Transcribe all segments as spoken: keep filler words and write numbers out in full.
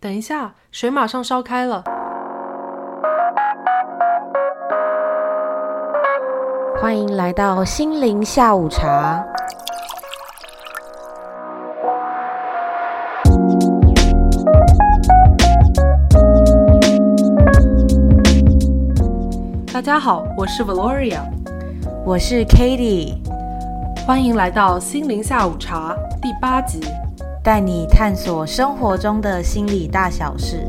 等一下，水马上烧开了。 欢迎来到心灵下午茶。 大家好，我是 Valoria， 我是 Katie， 欢迎来到心灵下午茶第八集， 带你探索生活中的心理大小事。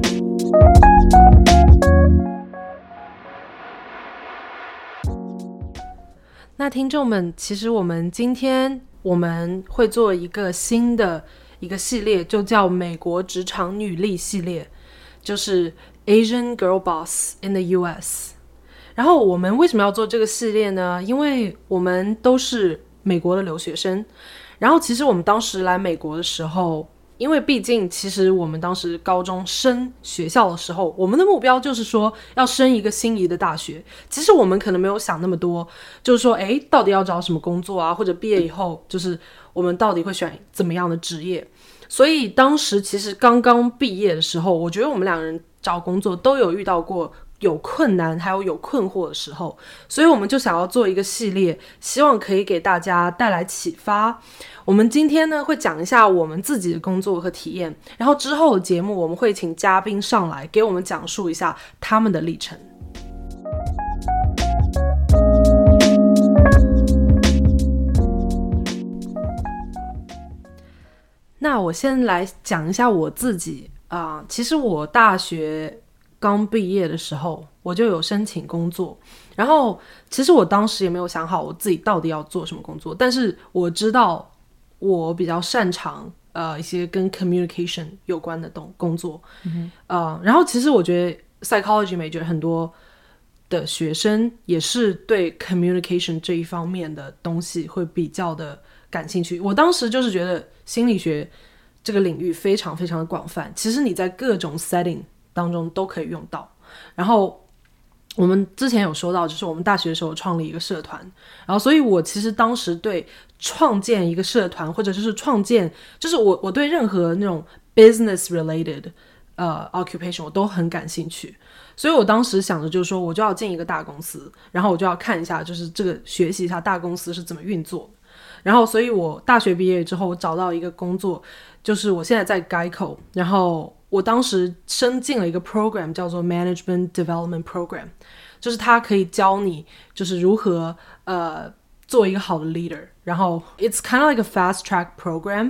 那听众们，其实我们今天我们会做一个新的一个系列，就叫美国职场女力系列，就是 Asian Girl Boss in the U S。 然后我们为什么要做这个系列呢？因为我们都是美国的留学生，然后其实我们当时来美国的时候，因为毕竟其实我们当时高中升学校的时候，我们的目标就是说要升一个心仪的大学。其实我们可能没有想那么多，就是说诶到底要找什么工作啊，或者毕业以后就是我们到底会选怎么样的职业。所以当时其实刚刚毕业的时候，我觉得我们两个人找工作都有遇到过有困难还有有困惑的时候，所以我们就想要做一个系列，希望可以给大家带来启发。我们今天呢会讲一下我们自己的工作和体验，然后之后的节目我们会请嘉宾上来给我们讲述一下他们的历程。那我先来讲一下我自己啊、呃，其实我大学刚毕业的时候我就有申请工作，然后其实我当时也没有想好我自己到底要做什么工作，但是我知道我比较擅长呃一些跟 communication 有关的东工作、嗯呃、然后其实我觉得 psychology major 很多的学生也是对 communication 这一方面的东西会比较的感兴趣。我当时就是觉得心理学这个领域非常非常的广泛，其实你在各种 setting当中都可以用到。然后我们之前有说到，就是我们大学的时候创立一个社团，然后所以我其实当时对创建一个社团，或者就是创建，就是我我对任何那种 business related 呃 occupation 我都很感兴趣。所以我当时想的就是说，我就要进一个大公司，然后我就要看一下，就是这个学习一下大公司是怎么运作的。然后所以我大学毕业之后，我找到一个工作，就是我现在在 Geico， 然后我当时申进了一个 program 叫做 Management Development Program， 就是它可以教你就是如何呃做一个好的 leader， 然后 it's kind of like a fast track program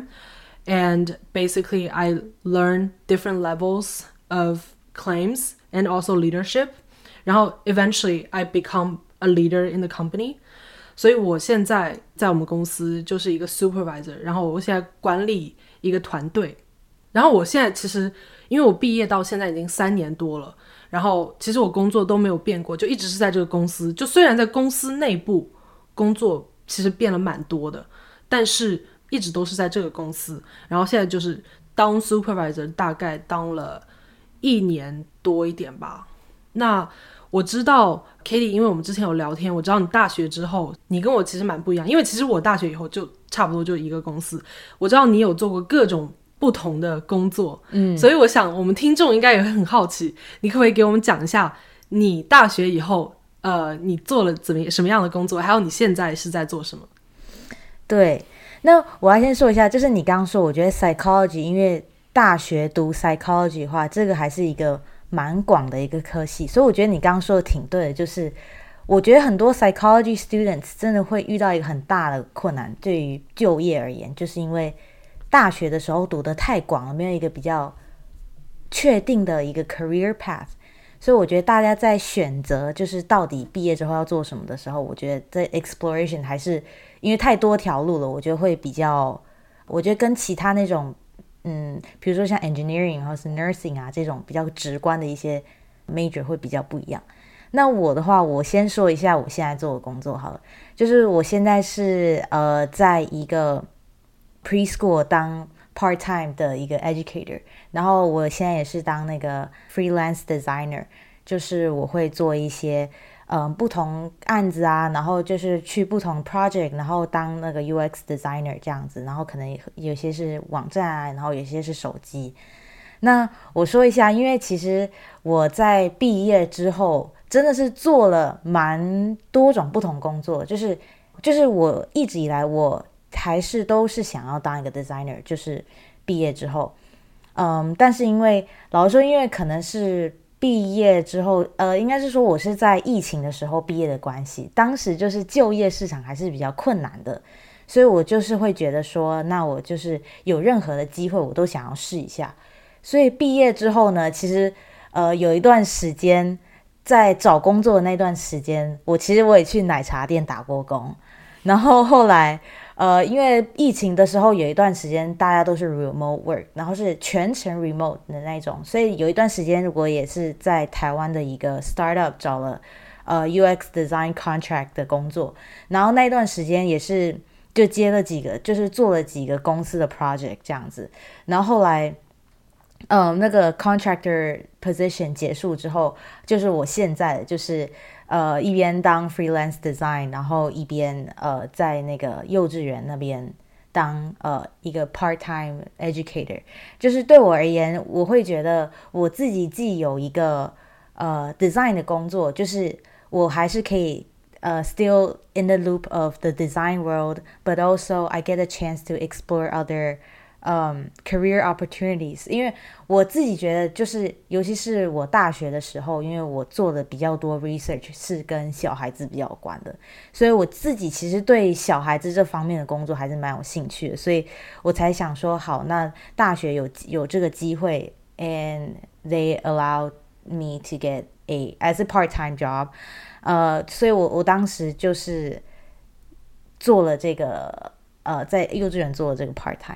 and basically I learn different levels of claims and also leadership， 然后 eventually I become a leader in the company。所以我现在在我们公司就是一个 supervisor， 然后我现在管理一个团队。然后我现在其实因为我毕业到现在已经三年多了，然后其实我工作都没有变过，就一直是在这个公司。就虽然在公司内部工作其实变了蛮多的，但是一直都是在这个公司。然后现在就是当 supervisor 大概当了一年多一点吧。那我知道 Katie， 因为我们之前有聊天，我知道你大学之后你跟我其实蛮不一样，因为其实我大学以后就差不多就一个公司，我知道你有做过各种不同的工作，嗯，所以我想我们听众应该也会很好奇，你可不可以给我们讲一下你大学以后呃，你做了怎么什么样的工作，还有你现在是在做什么？ 对，那我要先说一下，就是你刚刚说我觉得 psychology 因为大学读 psychology 的话，这个还是一个蛮广的一个科系，所以我觉得你刚刚说的挺对的，就是我觉得很多 psychology students 真的会遇到一个很大的困难，对于就业而言，就是因为大学的时候读得太广了，没有一个比较确定的一个 career path， 所以我觉得大家在选择就是到底毕业之后要做什么的时候，我觉得在 exploration 还是因为太多条路了，我觉得会比较，我觉得跟其他那种嗯，比如说像 engineering 或是 nursing 啊这种比较直观的一些 major 会比较不一样。那我的话，我先说一下我现在做的工作好了，就是我现在是呃在一个 preschool 当 part time 的一个 educator， 然后我现在也是当那个 freelance designer， 就是我会做一些嗯，不同案子啊，然后就是去不同 project， 然后当那个 U X designer 这样子，然后可能有些是网站啊，然后有些是手机。 那我说一下，因为其实我在毕业之后真的是做了蛮多种不同工作，就是就是我一直以来我还是都是想要当一个 designer， 就是毕业之后，嗯，但是因为老实说，因为可能是毕业之后，呃，应该是说我是在疫情的时候毕业的关系，当时就是就业市场还是比较困难的，所以我就是会觉得说，那我就是有任何的机会我都想要试一下。所以毕业之后呢，其实呃有一段时间在找工作的那段时间，我其实我也去奶茶店打过工，然后后来呃因为疫情的时候有一段时间大家都是 remote work， 然后是全程 remote 的那种，所以有一段时间如果也是在台湾的一个 startup 找了呃 U X design contract 的工作，然后那一段时间也是就接了几个，就是做了几个公司的 project 这样子，然后后来嗯，那个 contractor position 结束之后，就是我现在的就是呃一边当 freelance design， 然后一边呃在那个幼稚园那边当呃一个 part time educator。就是对我而言，我会觉得我自己既有一个呃 design 的工作，就是我还是可以呃 still in the loop of the design world, but also I get a chance to explore other Um, career opportunities， 因为我自己觉得就是尤其是我大学的时候，因为我做的比较多 research 是跟小孩子比较有关的，所以我自己其实对小孩子这方面的工作还是蛮有兴趣的，所以我才想说好，那大学有有这个机会 and they allowed me to get a as a part-time job， 呃，所以我我当时就是做了这个呃在幼稚园做了这个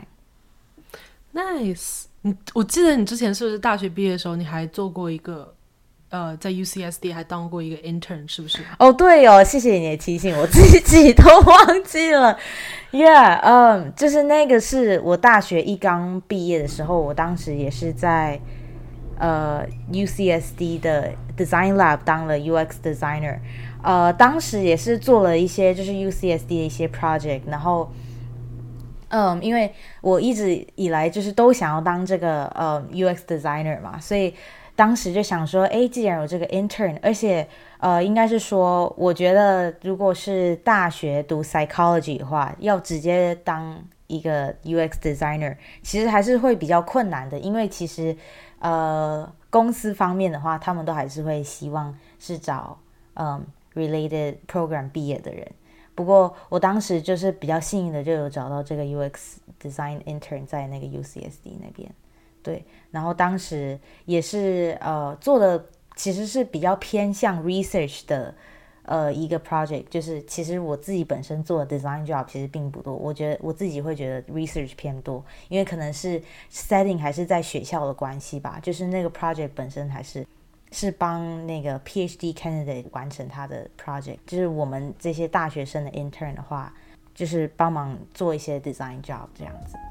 part-time。Nice， 你我记得你之前是不是大学毕业的时候，你还做过一个呃，在 U C S D 还当过一个 intern， 是不是？ 哦，对哦，谢谢你的提醒，我自己都忘记了。Yeah， 嗯、um, ，就是那个是我大学一刚毕业的时候，我当时也是在呃 U C S D 的 Design Lab 当了 U X designer， 呃，当时也是做了一些就是 U C S D 的一些 project， 然后。嗯，因为我一直以来就是都想要当这个呃 U X designer 嘛，所以当时就想说，哎，既然有这个 intern， 而且呃，应该是说，我觉得如果是大学读 psychology 的话，要直接当一个 U X designer， 其实还是会比较困难的，因为其实呃公司方面的话，他们都还是会希望是找嗯 related program 毕业的人。不过我当时就是比较幸运的，就有找到这个 U X design intern 在那个 U C S D 那边，对，然后当时也是呃做的其实是比较偏向 research 的呃一个 project， 就是其实我自己本身做的 design job 其实并不多，我觉得我自己会觉得 research 偏多，因为可能是 setting 还是在学校的关系吧，就是那个 project 本身还是。是帮那个 PhD candidate 完成他的 project， 就是我们这些大学生的 intern 的话，就是帮忙做一些 design job 这样子。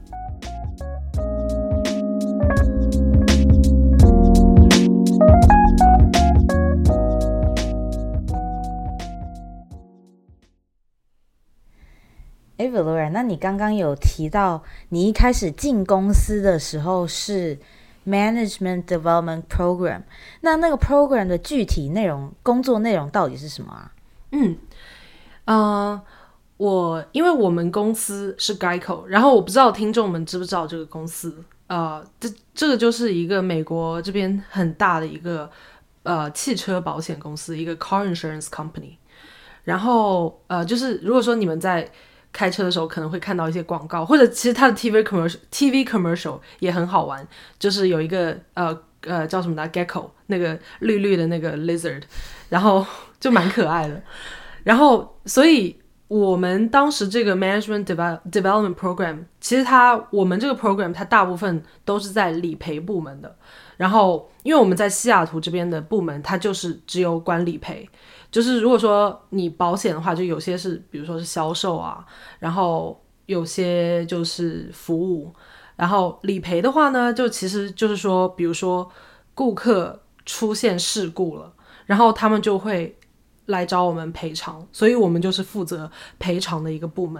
哎 Valora， 那你刚刚有提到你一开始进公司的时候是Management Development Program， 那那个 program 的具体内容，工作内容到底是什么啊？ 嗯，呃，我因为我们公司是 Geico， 然后我不知道听众们知不知道这个公司，呃，这这个就是一个美国这边很大的一个呃汽车保险公司，一个 car insurance company。然后呃，就是如果说你们在开车的时候可能会看到一些广告，或者其实它的 T V commercial T V commercial 也很好玩，就是有一个呃呃叫什么的 gecko， 那个绿绿的那个 lizard， 然后就蛮可爱的。然后所以我们当时这个 management development program， 其实它我们这个 program 它大部分都是在理赔部门的。然后因为我们在西雅图这边的部门，它就是只有管理赔。就是如果说你保险的话，就有些是比如说是销售啊，然后有些就是服务，然后理赔的话呢，就其实就是说比如说顾客出现事故了，然后他们就会来找我们赔偿，所以我们就是负责赔偿的一个部门。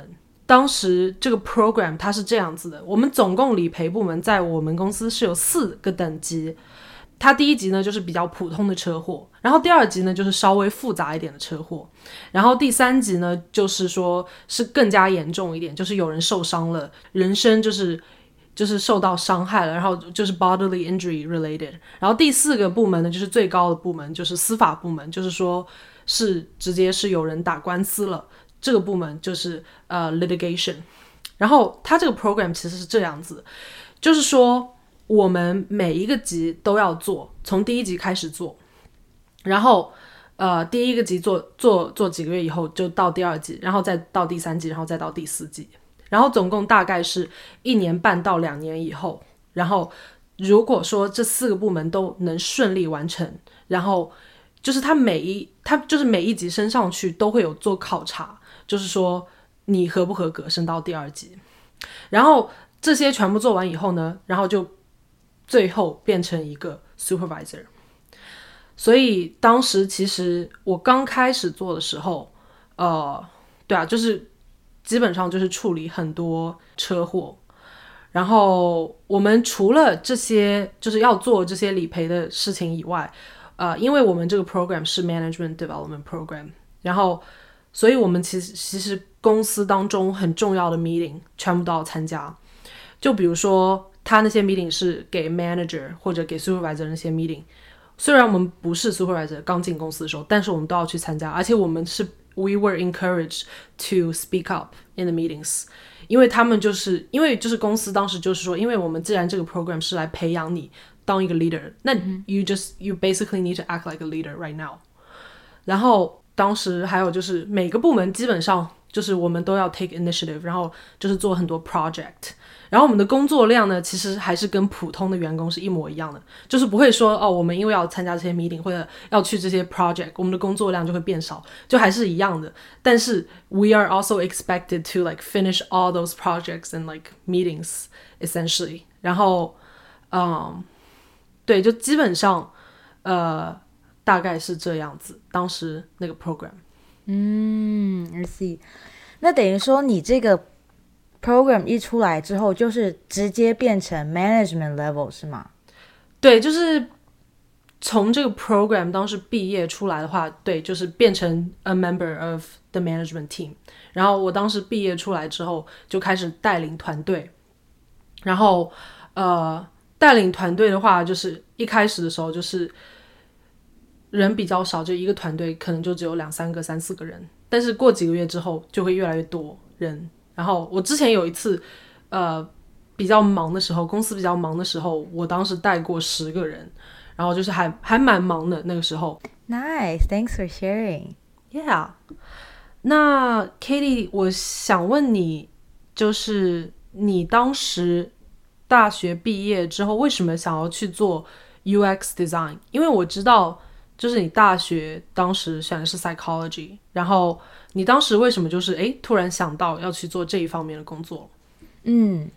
当时这个 program 它是这样子的，我们总共理赔部门在我们公司是有四个等级，它第一级呢就是比较普通的车祸，然后第二级呢就是稍微复杂一点的车祸，然后第三级呢就是说是更加严重一点，就是有人受伤了，人身就是就是受到伤害了，然后就是 bodily injury related， 然后第四个部门呢就是最高的部门，就是司法部门，就是说是直接是有人打官司了，这个部门就是呃 litigation。 然后它这个 program 其实是这样子，就是说我们每一个级都要做，从第一级开始做，然后呃第一个级做做做几个月以后就到第二级，然后再到第三级，然后再到第四级，然后总共大概是一年半到两年以后，然后如果说这四个部门都能顺利完成，然后就是他每一他就是每一级升上去都会有做考察，就是说你合不合格升到第二级，然后这些全部做完以后呢，然后就最后变成一个 supervisor。 所以当时其实我刚开始做的时候呃，对啊，就是基本上就是处理很多车祸，然后我们除了这些就是要做这些理赔的事情以外，呃，因为我们这个 program 是 management development program， 然后所以我们其实其实公司当中很重要的 meeting 全部都要参加，就比如说他那些 meeting 是给 manager 或者给 supervisor 那些 meeting， 虽然我们不是 supervisor 刚进公司的时候，但是我们都要去参加，而且我们是 we were encouraged to speak up in the meetings， 因为他们就是因为就是公司当时就是说，因为我们既然这个 program 是来培养你当一个 leader， 那 you just you basically need to act like a leader right now。 然后当时还有就是每个部门基本上就是我们都要 take initiative， 然后就是做很多 project， 然后我们的工作量呢其实还是跟普通的员工是一模一样的，就是不会说哦我们因为要参加这些 meeting 或者要去这些 project 我们的工作量就会变少，就还是一样的，但是 we are also expected to like finish all those projects and like meetings essentially。 然后嗯，对，就基本上呃大概是这样子当时那个 program。 嗯 I see。 那等于说你这个 program 一出来之后就是直接变成 management level 是吗？ 对，就是从这个 program 当时毕业出来的话，对，就是变成 a member of the management team。 然后我当时毕业出来之后就开始带领团队，然后呃带领团队的话就是一开始的时候就是人比较少，就一个团队可能就只有两三个三四个人，但是过几个月之后就会越来越多人。然后我之前有一次呃比较忙的时候，公司比较忙的时候，我当时带过十个人，然后就是还还蛮忙的那个时候。 Nice, thanks for sharing. Yeah。 那 Katie 我想问你，就是你当时大学毕业之后为什么想要去做 U X design？ 因为我知道就是你大学当时选的是 psychology， 然后你当时为什么就是诶突然想到要去做这一方面的工作？ 嗯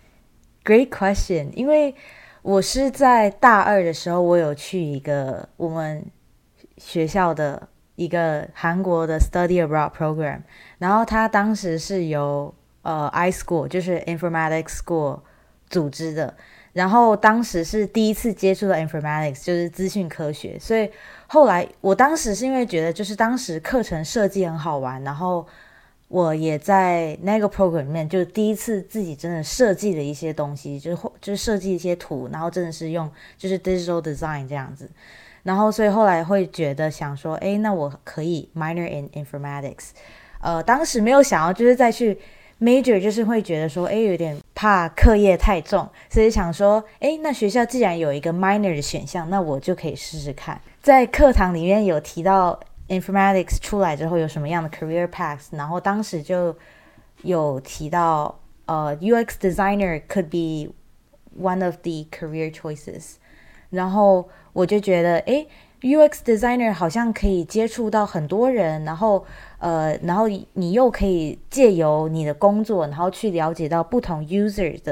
Great question。 因为我是在大二的时候我有去一个我们学校的一个韩国的 study abroad program， 然后他当时是由呃 iSchool 就是 informatics school 组织的，然后当时是第一次接触到 informatics 就是资讯科学，所以后来我当时是因为觉得就是当时课程设计很好玩，然后我也在那个 program 里面就第一次自己真的设计了一些东西，就是就是设计一些图，然后真的是用就是 digital design 这样子，然后所以后来会觉得想说诶那我可以 minor in informatics， 呃当时没有想要就是再去major， 就是会觉得说诶有点怕课业太重，所以想说诶那学校既然有一个 minor 的选项，那我就可以试试看。在课堂里面有提到 informatics 出来之后有什么样的 career paths， 然后当时就有提到呃 U X designer could be one of the career choices， 然后我就觉得诶 U X designer 好像可以接触到很多人，然后呃，然后你又可以借由你的工作然后去了解到不同 user 的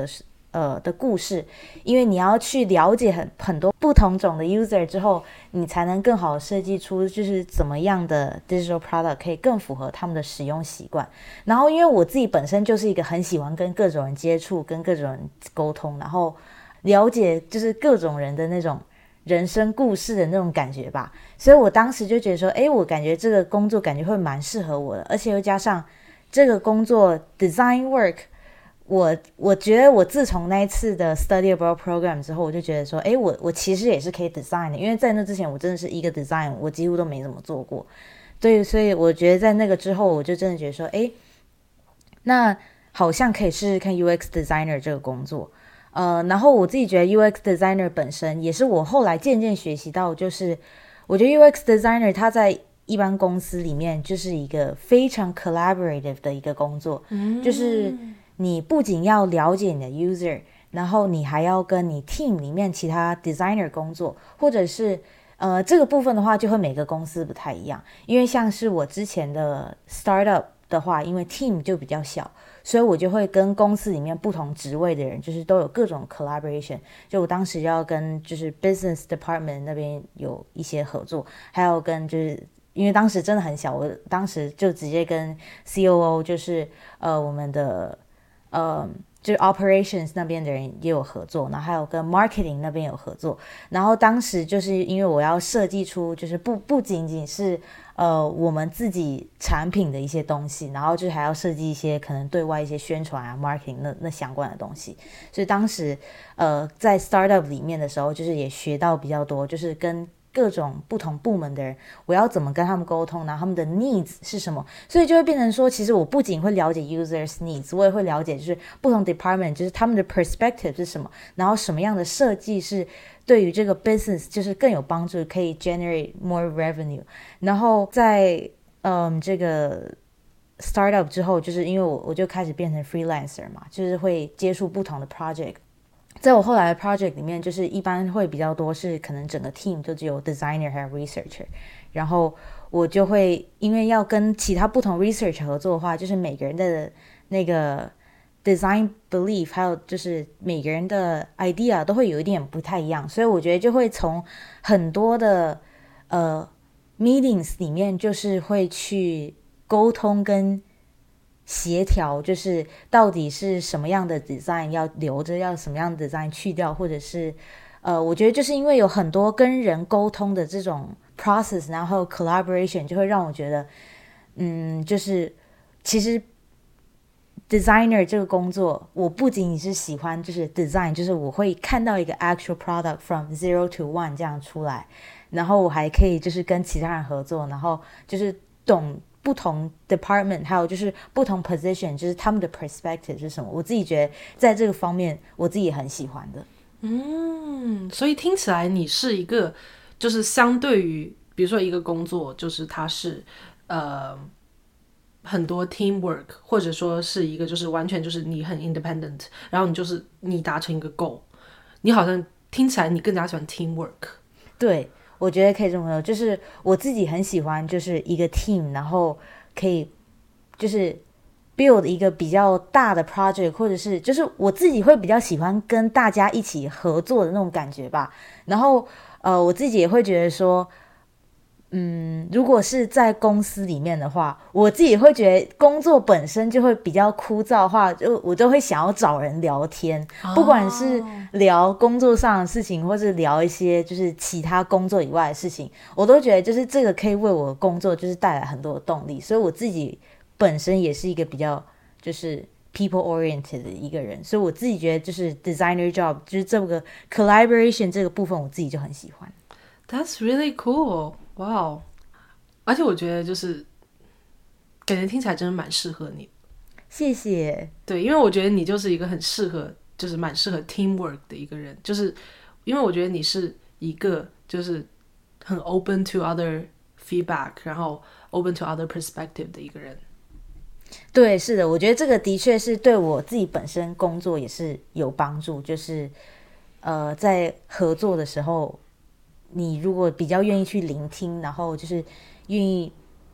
呃的故事，因为你要去了解很很多不同种的 user 之后，你才能更好的设计出就是怎么样的 digital product 可以更符合他们的使用习惯。然后因为我自己本身就是一个很喜欢跟各种人接触，跟各种人沟通，然后了解就是各种人的那种人生故事的那种感觉吧，所以我当时就觉得说，诶，我感觉这个工作感觉会蛮适合我的，而且又加上这个工作 design work， 我我觉得我自从那一次的 study abroad program 之后，我就觉得说，诶，我我其实也是可以 design 的，因为在那之前我真的是一个 design 我几乎都没怎么做过，对，所以我觉得在那个之后，我就真的觉得说，诶，那好像可以试试看 U X designer 这个工作。呃，然后我自己觉得 U X designer 本身也是我后来渐渐学习到，就是我觉得 U X designer 它在一般公司里面就是一个非常 collaborative 的一个工作，嗯，就是你不仅要了解你的 user， 然后你还要跟你 team 里面其他 designer 工作，或者是呃这个部分的话就会每个公司不太一样，因为像是我之前的 startup 的话，因为 team 就比较小，所以我就会跟公司里面不同职位的人就是都有各种 collaboration， 就我当时要跟就是 business department 那边有一些合作，还有跟就是因为当时真的很小，我当时就直接跟 C O O 就是呃我们的呃就是 operations 那边的人也有合作，然后还有跟 marketing 那边有合作，然后当时就是因为我要设计出就是不不仅仅是呃我们自己产品的一些东西，然后就是还要设计一些可能对外一些宣传啊 marketing 那那相关的东西，所以当时呃在 startup 里面的时候，就是也学到比较多，就是跟各种不同部门的人，我要怎么跟他们沟通，然后他们的 needs 是什么，所以就会变成说，其实我不仅会了解 users needs， 我也会了解就是不同 department 就是他们的 perspective 是什么，然后什么样的设计是对于这个 business 就是更有帮助，可以 generate more revenue。然后在嗯这个 startup 之后，就是因为我我就开始变成 freelancer 嘛，就是会接触不同的 project。在我后来的 project 里面，就是一般会比较多是可能整个 team 就只有 designer 还有 researcher， 然后我就会因为要跟其他不同 research 合作的话，就是每个人的那个 design belief 还有就是每个人的 idea 都会有一点不太一样，所以我觉得就会从很多的呃 meetings 里面就是会去沟通跟协调，就是到底是什么样的 design 要留着，要什么样的 design 去掉，或者是呃，我觉得就是因为有很多跟人沟通的这种 process， 然后 collaboration 就会让我觉得，嗯，就是其实 designer 这个工作，我不仅仅是喜欢就是 design， 就是我会看到一个 actual product from zero to one 这样出来，然后我还可以就是跟其他人合作，然后就是懂不同 department 还有就是不同 position 就是他们的 perspective 是什么，我自己觉得在这个方面我自己也很喜欢的。 嗯，所以听起来你是一个就是相对于比如说一个工作就是它是呃很多 teamwork， 或者说是一个就是完全就是你很 independent， 然后你就是你达成一个 goal， 你好像听起来你更加喜欢 teamwork。 对，我觉得可以这么说，就是我自己很喜欢就是一个 team， 然后可以就是 build 一个比较大的 project， 或者是就是我自己会比较喜欢跟大家一起合作的那种感觉吧。然后呃，我自己也会觉得说，嗯，如果是在公司里面的话，我自己会觉得工作本身就会比较枯燥的话，就我都会想要找人聊天，不管是聊工作上的事情，或是聊一些就是其他工作以外的事情，我都觉得就是这个可以为我的工作就是带来很多的动力，所以我自己本身也是一个比较就是 people oriented 的一个人，所以我自己觉得就是 designer job 就是这个 collaboration 这个部分我自己就很喜欢。 That's really cool， 哇、wow 而且我觉得就是感觉听起来真的蛮适合你。 谢谢。 对，因为我觉得你就是一个很适合就是蛮适合 teamwork 的一个人，就是因为我觉得你是一个就是很 open to other feedback， 然后 open to other perspective 的一个人。 对，是的，我觉得这个的确是对我自己本身工作也是有帮助，就是呃，在合作的时候，你如果比较愿意去聆听，然后就是愿意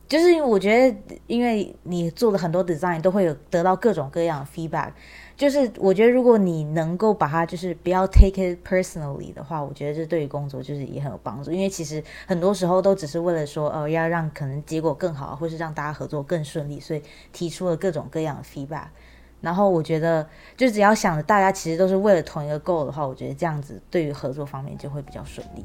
就是我觉得因为你做了很多 design 都会有得到各种各样的 feedback， 就是我觉得如果你能够把它就是不要 take it personally 的话，我觉得这对于工作就是也很有帮助，因为其实很多时候都只是为了说呃要让可能结果更好，或是让大家合作更顺利，所以提出了各种各样的 feedback。然后我觉得就只要想着大家其实都是为了同一个 goal 的话，我觉得这样子对于合作方面就会比较顺利。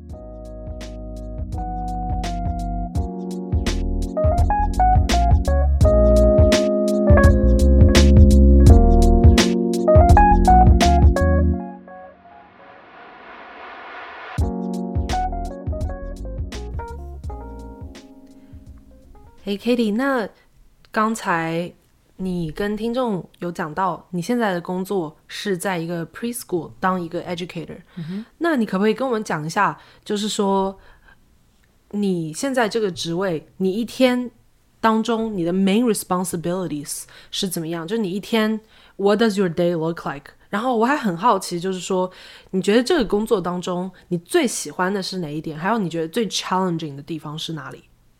嘿 Katie， 那刚才你跟听众有讲到你现在的工作是在一个 preschool 当一个 educator、嗯、那你可不可以跟我们讲一下，就是说你现在这个职位你一天当中你的 main responsibilities 是怎么样，就是你一天 what does your day look like， 然后我还很好奇，就是说你觉得这个工作当中你最喜欢的是哪一点，还有你觉得最 challenging 的地方是哪里？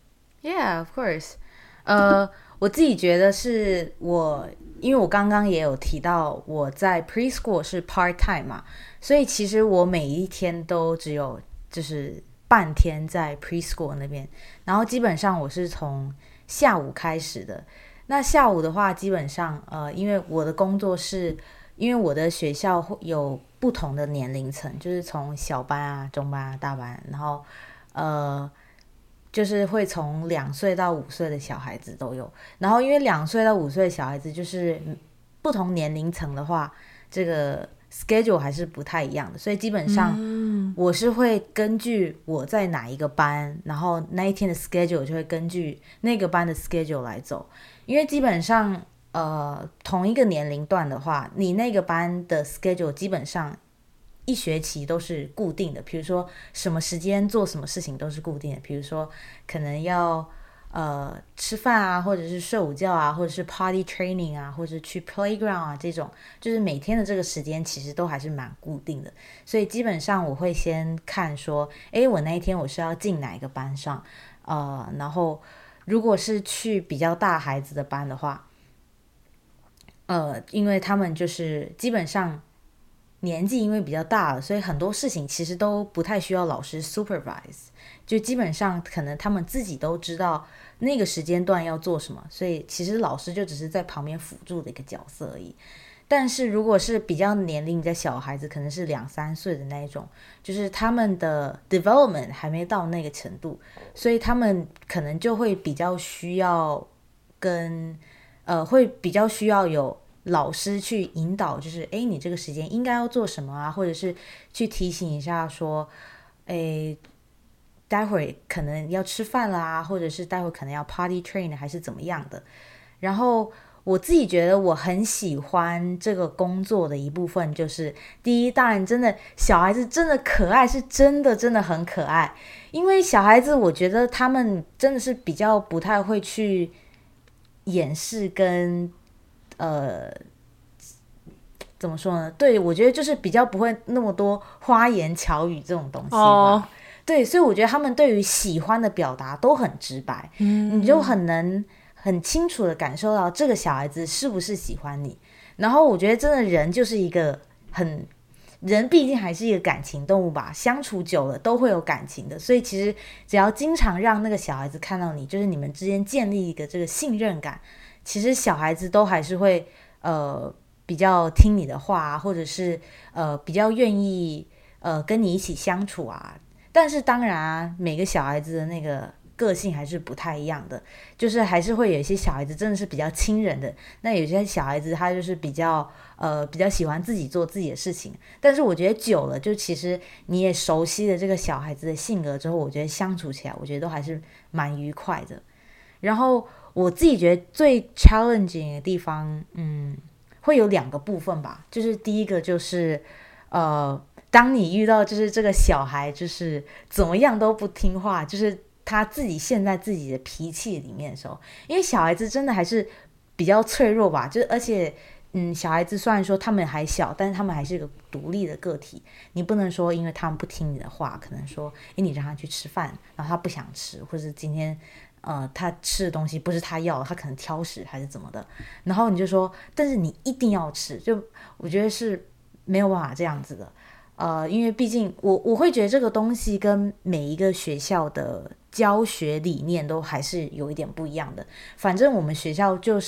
Yeah, of course. 呃，我自己觉得是我，因为我刚刚也有提到我在 preschool 是 part time 嘛，所以其实我每一天都只有就是半天在 preschool 那边，然后基本上我是从下午开始的。那下午的话，基本上呃，因为我的工作是，因为我的学校有不同的年龄层，就是从小班啊、中班啊、大班，然后呃。就是会从两岁到五岁的小孩子都有，然后因为两岁到五岁的小孩子就是不同年龄层的话，这个 schedule 还是不太一样的，所以基本上我是会根据我在哪一个班，然后那一天的 schedule 就会根据那个班的 schedule 来走，因为基本上呃同一个年龄段的话，你那个班的 schedule 基本上一学期都是固定的，比如说什么时间做什么事情都是固定的，比如说可能要呃吃饭啊，或者是睡午觉啊，或者是 party training 啊，或者是去 playground 啊，这种就是每天的这个时间其实都还是蛮固定的，所以基本上我会先看说诶我那一天我是要进哪一个班上，呃，然后如果是去比较大孩子的班的话，呃，因为他们就是基本上年纪因为比较大了，所以很多事情其实都不太需要老师 supervise， 就基本上可能他们自己都知道那个时间段要做什么，所以其实老师就只是在旁边辅助的一个角色而已。但是如果是比较年龄的小孩子，可能是两三岁的那一种，就是他们的 development 还没到那个程度，所以他们可能就会比较需要跟呃会比较需要有老师去引导，就是诶你这个时间应该要做什么啊，或者是去提醒一下说诶待会儿可能要吃饭啦，或者是待会儿可能要 party train 还是怎么样的。然后我自己觉得我很喜欢这个工作的一部分就是第一，当然真的小孩子真的可爱，是真的真的很可爱，因为小孩子我觉得他们真的是比较不太会去掩饰跟呃，怎么说呢？对，我觉得就是比较不会那么多花言巧语这种东西吧。Oh. 对，所以我觉得他们对于喜欢的表达都很直白，嗯，你就很能很清楚的感受到这个小孩子是不是喜欢你。然后我觉得真的人就是一个很人毕竟还是一个感情动物吧，相处久了都会有感情的，所以其实只要经常让那个小孩子看到你，就是你们之间建立一个这个信任感，其实小孩子都还是会呃比较听你的话啊，或者是呃比较愿意呃跟你一起相处啊。但是当然啊，每个小孩子的那个个性还是不太一样的，就是还是会有一些小孩子真的是比较亲人的，那有些小孩子他就是比较呃比较喜欢自己做自己的事情。但是我觉得久了，就其实你也熟悉了这个小孩子的性格之后，我觉得相处起来我觉得都还是蛮愉快的。然后我自己觉得最 challenging 的地方嗯会有两个部分吧，就是第一个就是呃当你遇到就是这个小孩就是怎么样都不听话，就是他自己陷在自己的脾气里面的时候，因为小孩子真的还是比较脆弱吧，就是而且嗯，小孩子虽然说他们还小，但是他们还是一个独立的个体，你不能说因为他们不听你的话，可能说诶你让他去吃饭，然后他不想吃，或者今天呃，他吃的东西不是他要的，他可能挑食还是怎么的，然后你就说，但是你一定要吃，就我觉得是没有办法这样子的，呃，因为毕竟我我会觉得这个东西跟每一个学校的教学理念都还是有一点不一样的。反正我们学校就是，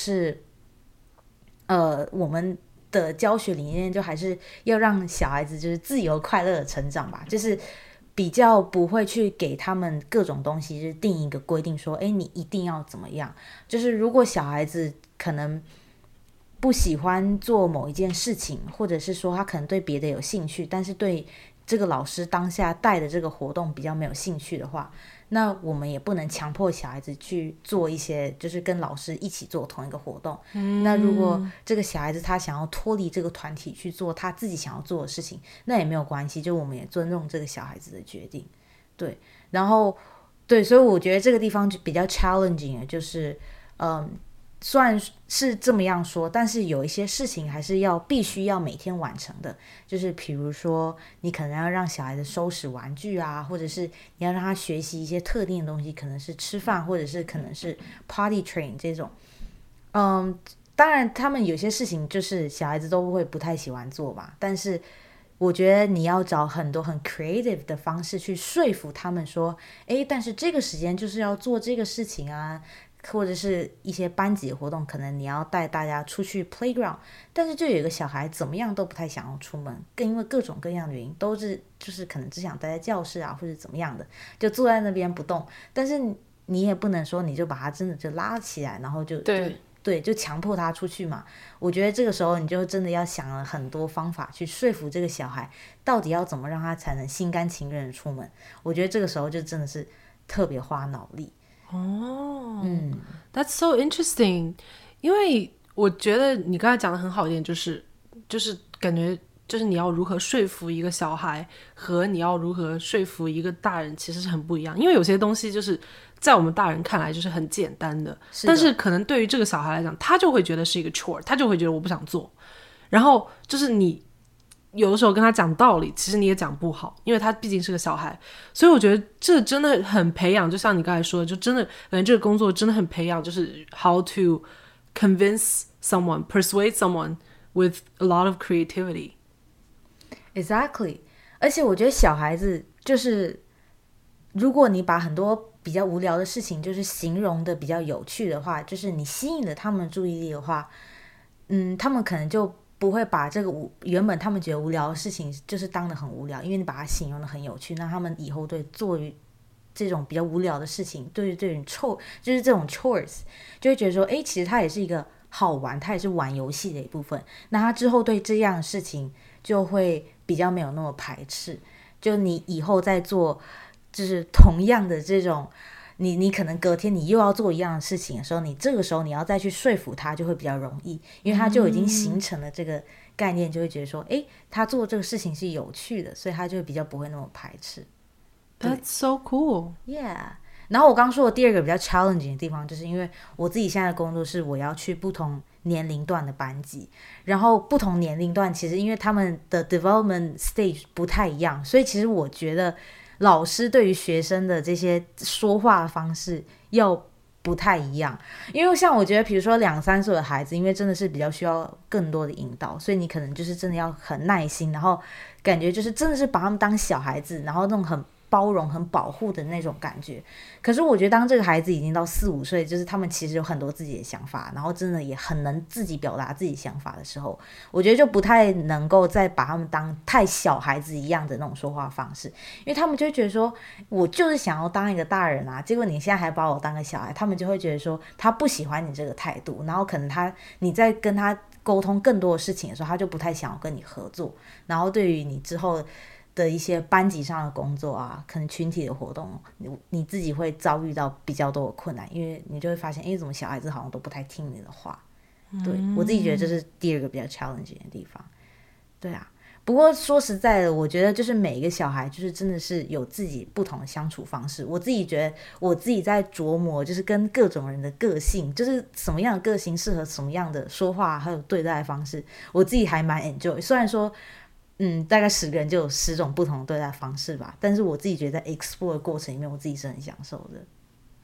呃，我们的教学理念就还是要让小孩子就是自由快乐的成长吧，就是比较不会去给他们各种东西，就是定一个规定说，哎，你一定要怎么样。就是如果小孩子可能不喜欢做某一件事情，或者是说他可能对别的有兴趣，但是对这个老师当下带的这个活动比较没有兴趣的话，那我们也不能强迫小孩子去做一些就是跟老师一起做同一个活动、嗯、那如果这个小孩子他想要脱离这个团体去做他自己想要做的事情，那也没有关系，就我们也尊重这个小孩子的决定。对，然后对，所以我觉得这个地方就比较 challenging 的就是嗯虽然是这么样说，但是有一些事情还是要必须要每天完成的，就是比如说你可能要让小孩子收拾玩具啊，或者是你要让他学习一些特定的东西，可能是吃饭，或者是可能是 potty train 这种。嗯，当然他们有些事情就是小孩子都会不太喜欢做嘛，但是我觉得你要找很多很 creative 的方式去说服他们说，诶，但是这个时间就是要做这个事情啊，或者是一些班级的活动，可能你要带大家出去 playground， 但是就有一个小孩怎么样都不太想要出门，更因为各种各样的原因，都是就是可能只想待在教室啊，或者怎么样的，就坐在那边不动。但是你也不能说你就把他真的就拉起来，然后就对就对，就强迫他出去嘛。我觉得这个时候你就真的要想了很多方法去说服这个小孩，到底要怎么让他才能心甘情愿的出门。我觉得这个时候就真的是特别花脑力。 哦， 嗯 That's so interesting。因为我觉得你刚才讲的很好一点，就是就是感觉就是你要如何说服一个小孩和你要如何说服一个大人其实是很不一样。因为有些东西就是在我们大人看来就是很简单的， 是的但是可能对于这个小孩来讲，他就会觉得是一个 chore， 他就会觉得我不想做。然后就是你有的时候跟他讲道理，其实你也讲不好，因为他毕竟是个小孩。所以我觉得这真的很培养，就像你刚才说的，就真的感觉这个工作真的很培养，就是 how to convince someone, persuade someone with a lot of creativity. Exactly， 而且我觉得小孩子就是，如果你把很多比较无聊的事情就是形容的比较有趣的话，就是你吸引了他们的注意力的话，嗯，他们可能就不会把这个无原本他们觉得无聊的事情就是当得很无聊，因为你把它形容的很有趣，那他们以后对做于这种比较无聊的事情，对于这种 chore 就是这种 chores 就会觉得说，哎，其实它也是一个好玩，它也是玩游戏的一部分。那他之后对这样的事情就会比较没有那么排斥。就你以后再做就是同样的这种，你你可能隔天你又要做一样的事情的时候，你这个时候你要再去说服他就会比较容易，因为他就已经形成了这个概念，就会觉得说，诶，他做这个事情是有趣的，所以他就比较不会那么排斥。 That's so cool. Yeah。然后我刚说的第二个比较 challenging 的地方，就是因为我自己现在的工作是我要去不同年龄段的班级，然后不同年龄段其实因为他们的 development stage 不太一样，所以其实我觉得老师对于学生的这些说话方式要不太一样。因为像我觉得比如说两三岁的孩子，因为真的是比较需要更多的引导，所以你可能就是真的要很耐心，然后感觉就是真的是把他们当小孩子，然后那种很包容很保护的那种感觉。可是我觉得当这个孩子已经到四五岁，就是他们其实有很多自己的想法，然后真的也很能自己表达自己想法的时候，我觉得就不太能够再把他们当太小孩子一样的那种说话方式，因为他们就会觉得说我就是想要当一个大人啊，结果你现在还把我当个小孩，他们就会觉得说他不喜欢你这个态度，然后可能他你在跟他沟通更多的事情的时候，他就不太想要跟你合作，然后对于你之后的一些班级上的工作啊，可能群体的活动，你你自己会遭遇到比较多的困难，因为你就会发现，哎，怎么小孩子好像都不太听你的话。对、嗯、我自己觉得这是第二个比较 challenging 的地方。对啊，不过说实在的，我觉得就是每一个小孩就是真的是有自己不同的相处方式。我自己觉得我自己在琢磨，就是跟各种人的个性，就是什么样的个性适合什么样的说话还有对待的方式，我自己还蛮 enjoy。虽然说嗯，大概十个人就有十种不同的对待方式吧，但是我自己觉得在 explore 的过程里面，我自己是很享受的。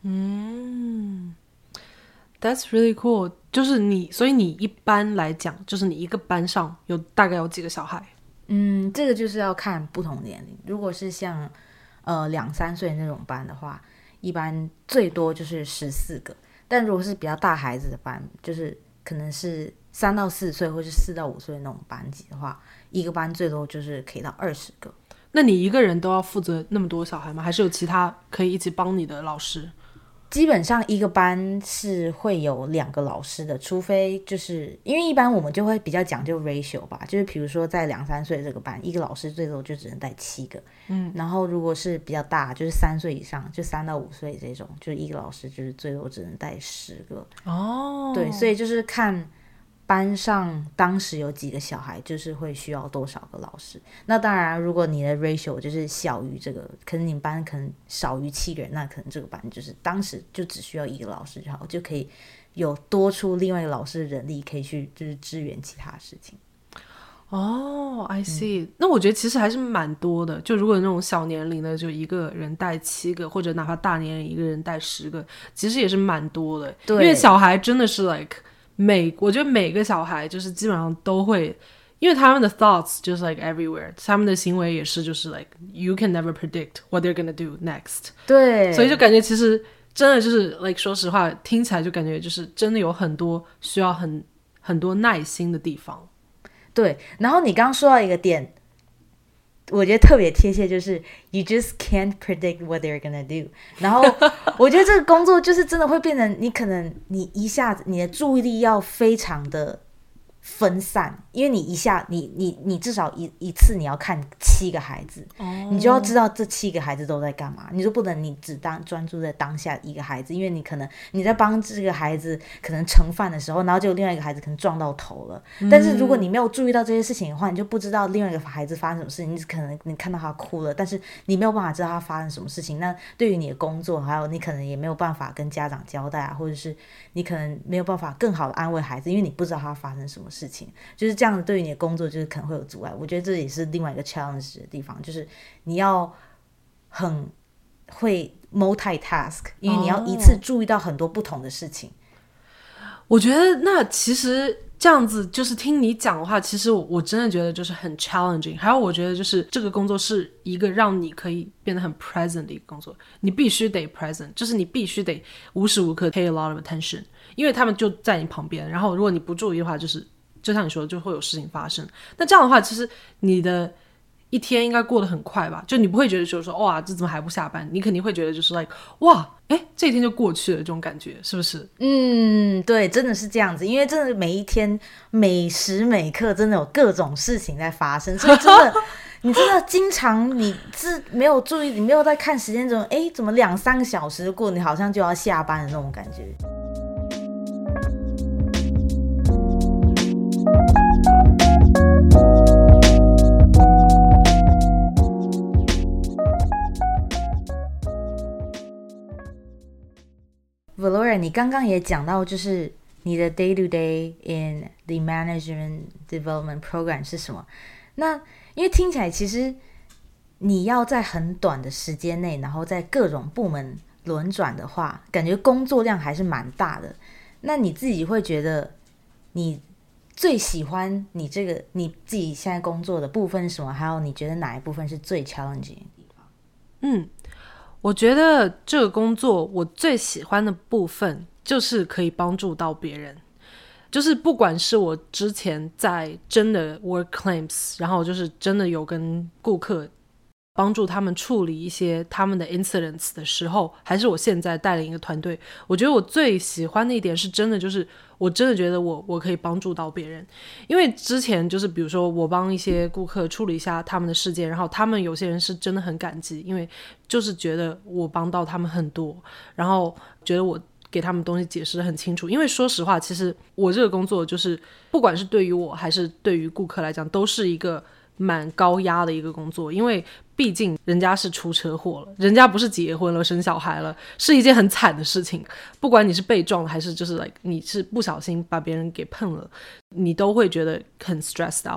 嗯，That's really cool。就是你，所以你一般来讲，就是你一个班上有大概有几个小孩？ 嗯，这个就是要看不同年龄。如果是像呃两三岁那种班的话，一般最多就是十四个。但如果是比较大孩子的班，就是可能是三到四岁或是四到五岁那种班级的话，一个班最多就是可以到二十个。 那你一个人都要负责那么多小孩吗？还是有其他可以一起帮你的老师？ 基本上一个班是会有两个老师的，除非就是因为一般我们就会比较讲究 ratio 吧，就是比如说在两三岁这个班，一个老师最多就只能带七个，嗯，然后如果是比较大，就是三岁以上，就三到五岁这种，就是一个老师就是最多只能带十个。 哦， 对，所以就是看班上当时有几个小孩，就是会需要多少个老师。那当然如果你的 ratio 就是小于这个，可能你们班可能少于七个人，那可能这个班就是当时就只需要一个老师就好，就可以有多出另外一个老师的人力可以去就是支援其他事情。 哦、I see、嗯、那我觉得其实还是蛮多的，就如果那种小年龄的就一个人带七个，或者哪怕大年龄一个人带十个，其实也是蛮多的。 对， 因为小孩真的是 like每我觉得每个小孩就是基本上都会，因为他们的 thoughts 就是 like everywhere， 他们的行为也是就是 like you can never predict what they're gonna do next。 对， 所以就感觉其实真的就是 like 说实话听起来就感觉就是真的有很多需要很很多耐心的地方。 对，然后你刚刚说到一个点我觉得特别贴切，就是 you just can't predict what they're gonna do。 然后我觉得这个工作就是真的会变成你可能你一下子你的注意力要非常的分散，因为你一下你你你至少一一次你要看七个孩子、oh. 你就要知道这七个孩子都在干嘛，你就不能你只当专注在当下一个孩子，因为你可能你在帮这个孩子可能盛饭的时候，然后就另外一个孩子可能撞到头了、嗯、但是如果你没有注意到这些事情的话，你就不知道另外一个孩子发生什么事情，你可能你看到他哭了，但是你没有办法知道他发生什么事情，那对于你的工作还有你可能也没有办法跟家长交代啊，或者是你可能没有办法更好的安慰孩子，因为你不知道他发生什么事情，就是这样子对于你的工作就是可能会有阻碍。我觉得这也是另外一个 challenge 的地方，就是你要很会 multitask， 因为你要一次注意到很多不同的事情、 哦、我觉得那其实这样子就是听你讲的话，其实 我, 我真的觉得就是很 challenging。还有我觉得就是这个工作是一个让你可以变得很 present 的一个工作，你必须得 present， 就是你必须得无时无刻 pay a lot of attention， 因为他们就在你旁边，然后如果你不注意的话，就是就像你说的就会有事情发生。那这样的话其实你的一天应该过得很快吧，就你不会觉得就是说哇这怎么还不下班，你肯定会觉得就是 like 哇诶这一天就过去了，这种感觉是不是？ 嗯，对，真的是这样子，因为真的每一天每时每刻真的有各种事情在发生，所以真的你真的经常你是没有注意，你没有在看时间中，诶怎么两三个小时过，你好像就要下班的那种感觉。Valoria 你刚刚也讲到就是你的 day to day in the management development program 是什么，那因为听起来其实你要在很短的时间内然后在各种部门轮转的话，感觉工作量还是蛮大的，那你自己会觉得你最喜欢你这个你自己现在工作的部分是什么，还有你觉得哪一部分是最 challenging 的地方？ 嗯，我觉得这个工作我最喜欢的部分就是可以帮助到别人，就是不管是我之前在真的 work claims， 然后就是真的有跟顾客帮助他们处理一些他们的 incidents 的时候，还是我现在带领一个团队，我觉得我最喜欢的一点是真的就是我真的觉得我我可以帮助到别人。因为之前就是比如说我帮一些顾客处理一下他们的事件，然后他们有些人是真的很感激，因为就是觉得我帮到他们很多，然后觉得我给他们东西解释得很清楚。因为说实话其实我这个工作就是不管是对于我还是对于顾客来讲都是一个蛮高压的一个工作，因为毕竟人家是出车祸了，人家不是结婚了生小孩了，是一件很惨的事情，不管你是被撞了还是就是 like 你是不小心把别人给碰了，你都会觉得很 stressed out。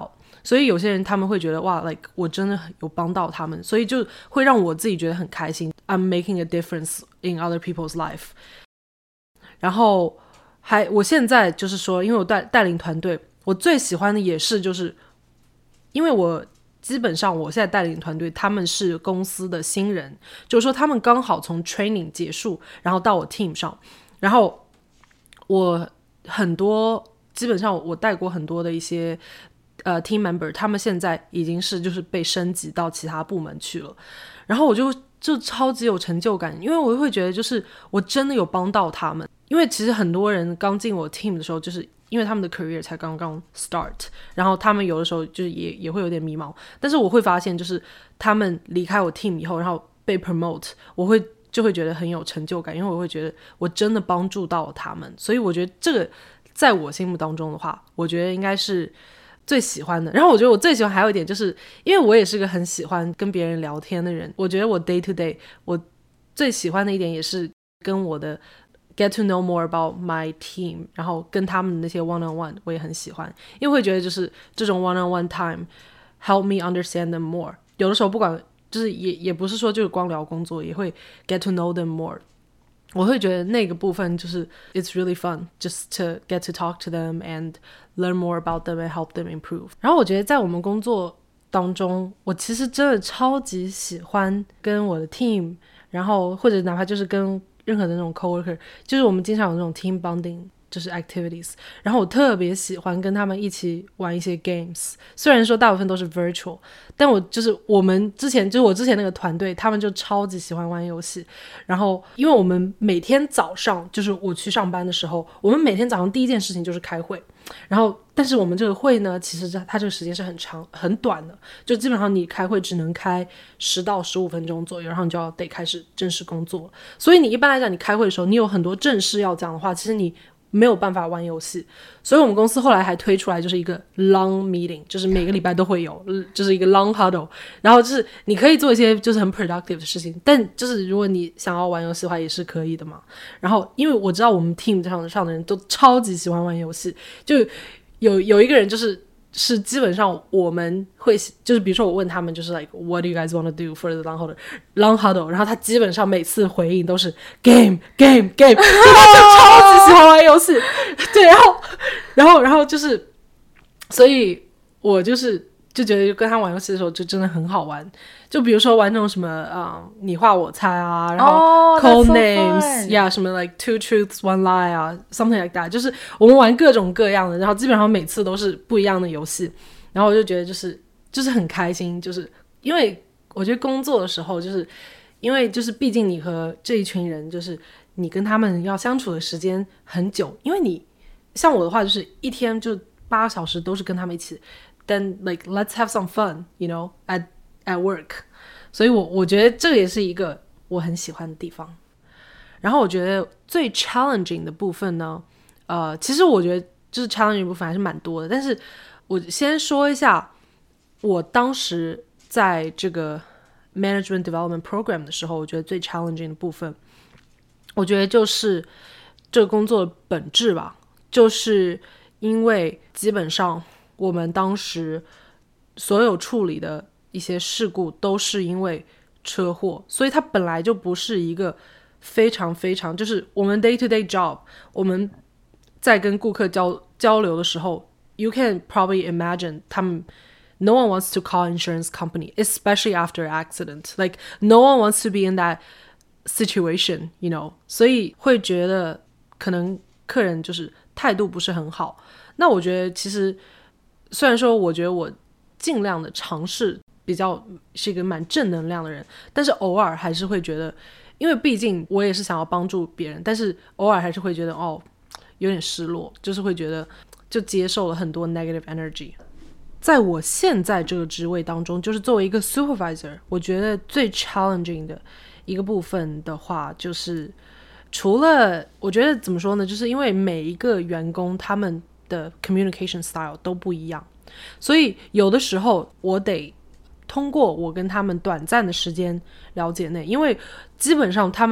所以有些人他们会觉得哇 like 我真的有帮到他们，所以就会让我自己觉得很开心， I'm making a difference in other people's life。 然后还我现在就是说，因为我带带领团队，我最喜欢的也是就是因为我基本上我现在带领团队他们是公司的新人，就是说他们刚好从 training 结束然后到我 team 上，然后我很多基本上我带过很多的一些呃 team member， 他们现在已经是就是被升级到其他部门去了，然后我就就超级有成就感，因为我会觉得就是我真的有帮到他们。因为其实很多人刚进我 team 的时候，就是因为他们的 career 才刚刚 start， 然后他们有的时候就是也也会有点迷茫，但是我会发现就是他们离开我 team 以后，然后被 promote， 我会就会觉得很有成就感，因为我会觉得我真的帮助到他们，所以我觉得这个在我心目当中的话，我觉得应该是最喜欢的。然后我觉得我最喜欢还有一点就是因为我也是个很喜欢跟别人聊天的人，我觉得我 day to day 我最喜欢的一点也是跟我的get to know more about my team， 然后跟他们的那些 one on one 我也很喜欢，因为会觉得就是这种 one on one time help me understand them more， 有的时候不管就是也也不是说就是光聊工作，也会 get to know them more， 我会觉得那个部分就是 it's really fun just to get to talk to them and learn more about them and help them improve。 然后我觉得在我们工作当中，我其实真的超级喜欢跟我的 team， 然后或者哪怕就是跟任何的那种 coworker， 就是我们经常有那种 team bonding 就是 activities， 然后我特别喜欢跟他们一起玩一些 games， 虽然说大部分都是 virtual， 但我就是我们之前就是我之前那个团队他们就超级喜欢玩游戏，然后因为我们每天早上就是我去上班的时候，我们每天早上第一件事情就是开会，然后但是我们这个会呢其实它这个时间是很长很短的，就基本上你开会只能开十到十五分钟左右，然后你就要得开始正式工作，所以你一般来讲你开会的时候你有很多正事要讲的话，其实你没有办法玩游戏，所以我们公司后来还推出来就是一个 long meeting， 就是每个礼拜都会有，就是一个 long huddle， 然后就是你可以做一些就是很 productive 的事情，但就是如果你想要玩游戏的话也是可以的嘛。然后因为我知道我们 team 上上的人都超级喜欢玩游戏，就有有一个人就是是基本上我们会就是比如说我问他们就是 like what do you guys want to do for the long huddle long huddle， 然后他基本上每次回应都是 game game game， 就他就超级喜欢玩游戏对，然后然后然后就是所以我就是就觉得跟他玩游戏的时候就真的很好玩，就比如说玩那种什么、嗯、你画我猜啊，然后 code、oh, names yeah 什么 like two truths one lie 啊 something like that， 就是我们玩各种各样的，然后基本上每次都是不一样的游戏，然后我就觉得就是就是很开心，就是因为我觉得工作的时候就是因为就是毕竟你和这一群人就是你跟他们要相处的时间很久，因为你像我的话就是一天就八个小时都是跟他们一起，then like let's have some fun you know at at work， 所以我我觉得这个也是一个我很喜欢的地方。然后我觉得最 challenging 的部分呢呃，其实我觉得就是 challenging 的部分还是蛮多的，但是我先说一下我当时在这个 management development program 的时候，我觉得最 challenging 的部分我觉得就是这个工作的本质吧，就是因为基本上我们当时所有处理的一些事故都是因为车祸，所以它本来就不是一个非常非常就是我们 day to day job， 我们在跟顾客 交, 交流的时候 you can probably imagine 他们 no one wants to call insurance company especially after accident, like no one wants to be in that situation you know， 所以会觉得可能客人就是态度不是很好。那我觉得其实虽然说我觉得我尽量的尝试比较是一个蛮正能量的人，但是偶尔还是会觉得，因为毕竟我也是想要帮助别人，但是偶尔还是会觉得哦有点失落，就是会觉得就接受了很多 negative energy。 在我现在这个职位当中，就是作为一个 supervisor， 我觉得最 challenging 的一个部分的话，就是除了我觉得怎么说呢，就是因为每一个员工他们的 communication style 都不一样，所以有的时候我得通过我跟他们短暂的时间了解内，因为基本上他们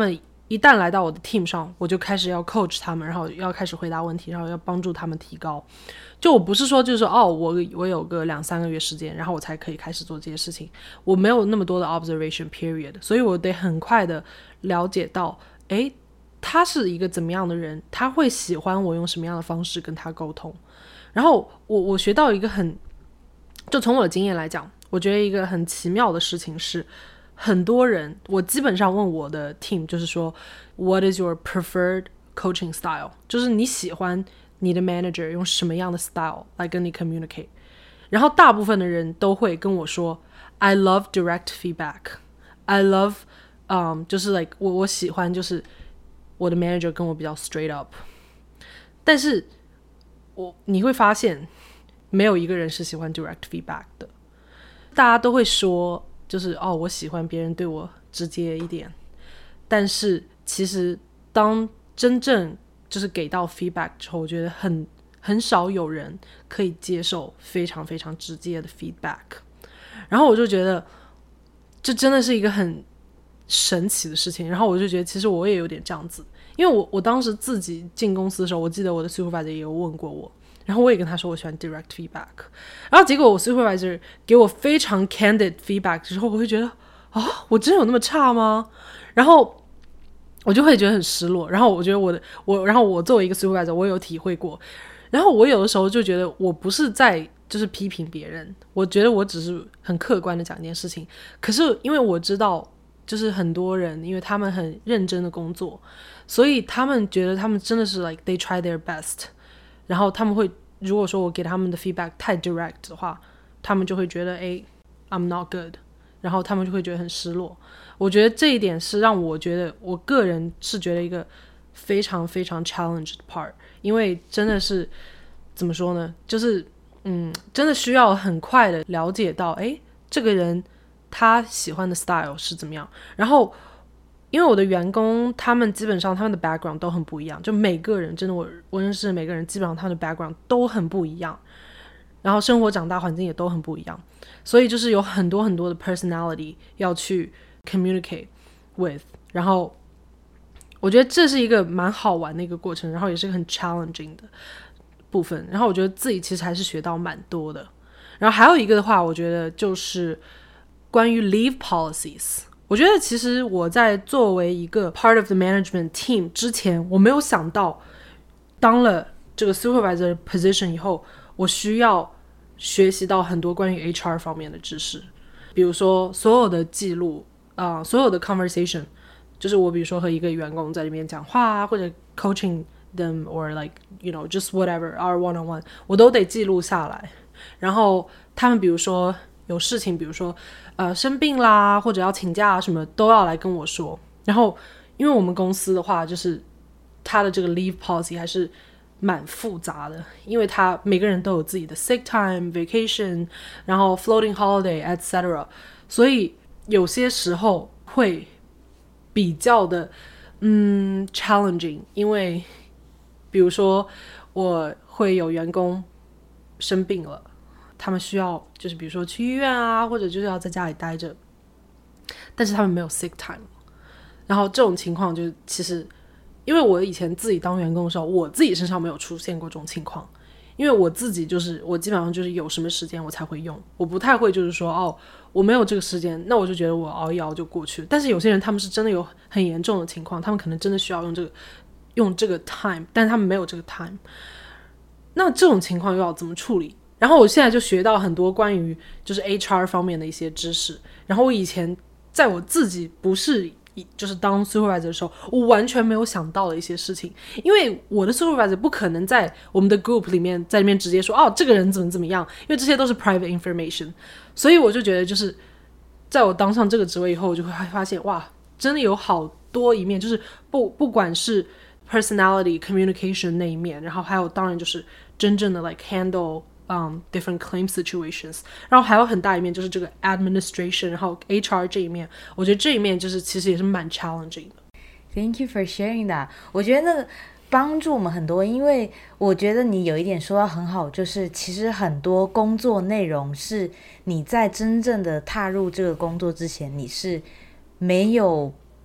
一旦来到我的 team 上，我就开始要 coach 他们，然后要开始回答问题，然后要帮助他们提高。就我不是说就是说哦，我我有个两三个月时间，然后我才可以开始做这些事情，我没有那么多的 observation period， 所以我得很快的了解到，诶，他是一个怎么样的人，他会喜欢我用什么样的方式跟他沟通。然后我我学到一个很，就从我的经验来讲，我觉得一个很奇妙的事情是，很多人我基本上问我的 team 就是说 What is your preferred coaching style， 就是你喜欢你的 manager 用什么样的 style 来跟你 communicate。 然后大部分的人都会跟我说 I love direct feedback， I love um, 就是 like 我我喜欢就是我的 manager 跟我比较 straight up。 但是我你会发现没有一个人是喜欢 direct feedback 的，大家都会说就是哦，我喜欢别人对我直接一点，但是其实当真正就是给到 feedback 之后，我觉得很很少有人可以接受非常非常直接的 feedback。 然后我就觉得这真的是一个很神奇的事情，然后我就觉得其实我也有点这样子，因为我我当时自己进公司的时候，我记得我的 supervisor 也有问过我，然后我也跟他说我喜欢 direct feedback， 然后结果我 supervisor 给我非常 candid feedback 之后，我会觉得啊，我真的有那么差吗？然后我就会觉得很失落。然后我觉得我的我，然后我作为一个 supervisor， 我有体会过。然后我有的时候就觉得我不是在就是批评别人，我觉得我只是很客观的讲一件事情。可是因为我知道，就是很多人因为他们很认真的工作，所以他们觉得他们真的是 like they try their best。然后他们会，如果说我给他们的 feedback 太 direct 的话，他们就会觉得哎 I'm not good， 然后他们就会觉得很失落。我觉得这一点是让我觉得我个人是觉得一个非常非常 challenge 的 part， 因为真的是怎么说呢，就是嗯，真的需要很快的了解到哎，这个人他喜欢的 style 是怎么样。然后因为我的员工他们基本上他们的 background 都很不一样，就每个人真的我我认识的每个人基本上他们的 background 都很不一样，然后生活长大环境也都很不一样，所以就是有很多很多的 personality 要去 communicate with。 然后我觉得这是一个蛮好玩的一个过程，然后也是个很 challenging 的部分。然后我觉得自己其实还是学到蛮多的。然后还有一个的话，我觉得就是关于 leave policies。我觉得其实我在作为一个 part of the management team 之前，我没有想到当了这个 supervisor position 以后，我需要学习到很多关于 H R 方面的知识。比如说所有的记录、呃、所有的 conversation， 就是我比如说和一个员工在里面讲话啊，或者 coaching them or like you know just whatever our one on one， 我都得记录下来。然后他们比如说有事情，比如说呃生病啦，或者要请假什么，都要来跟我说。然后因为我们公司的话，就是他的这个 leave policy 还是蛮复杂的，因为他每个人都有自己的 sick time vacation， 然后 floating holiday et cetera， 所以有些时候会比较的嗯 challenging。 因为比如说我会有员工生病了，他们需要就是比如说去医院啊，或者就是要在家里待着，但是他们没有 sick time。 然后这种情况就其实因为我以前自己当员工的时候，我自己身上没有出现过这种情况，因为我自己就是我基本上就是有什么时间我才会用，我不太会就是说哦我没有这个时间，那我就觉得我熬一熬就过去了。但是有些人他们是真的有很严重的情况，他们可能真的需要用这个用这个 time， 但是他们没有这个 time， 那这种情况又要怎么处理？然后我现在就学到很多关于就是 H R 方面的一些知识。然后我以前在我自己不是就是当 supervisor 的时候，我完全没有想到的一些事情，因为我的 supervisor 不可能在我们的 group 里面在里面直接说哦这个人怎么怎么样，因为这些都是 private information。 所以我就觉得就是在我当上这个职位以后，我就会发现哇真的有好多一面，就是不不管是 personality communication 那一面，然后还有当然就是真正的 like handle Um, different claim situations， 然后还有很大一面就是这个 administration， 然后 H R 这一面，我觉得这一面就是其实也是蛮 challenging 的。 Thank you for sharing that。 我觉得那个帮助我们很多，因为我觉得你有一点说到很好，就是其实很多工作内容是你在真正的踏入这个工作之前你是没有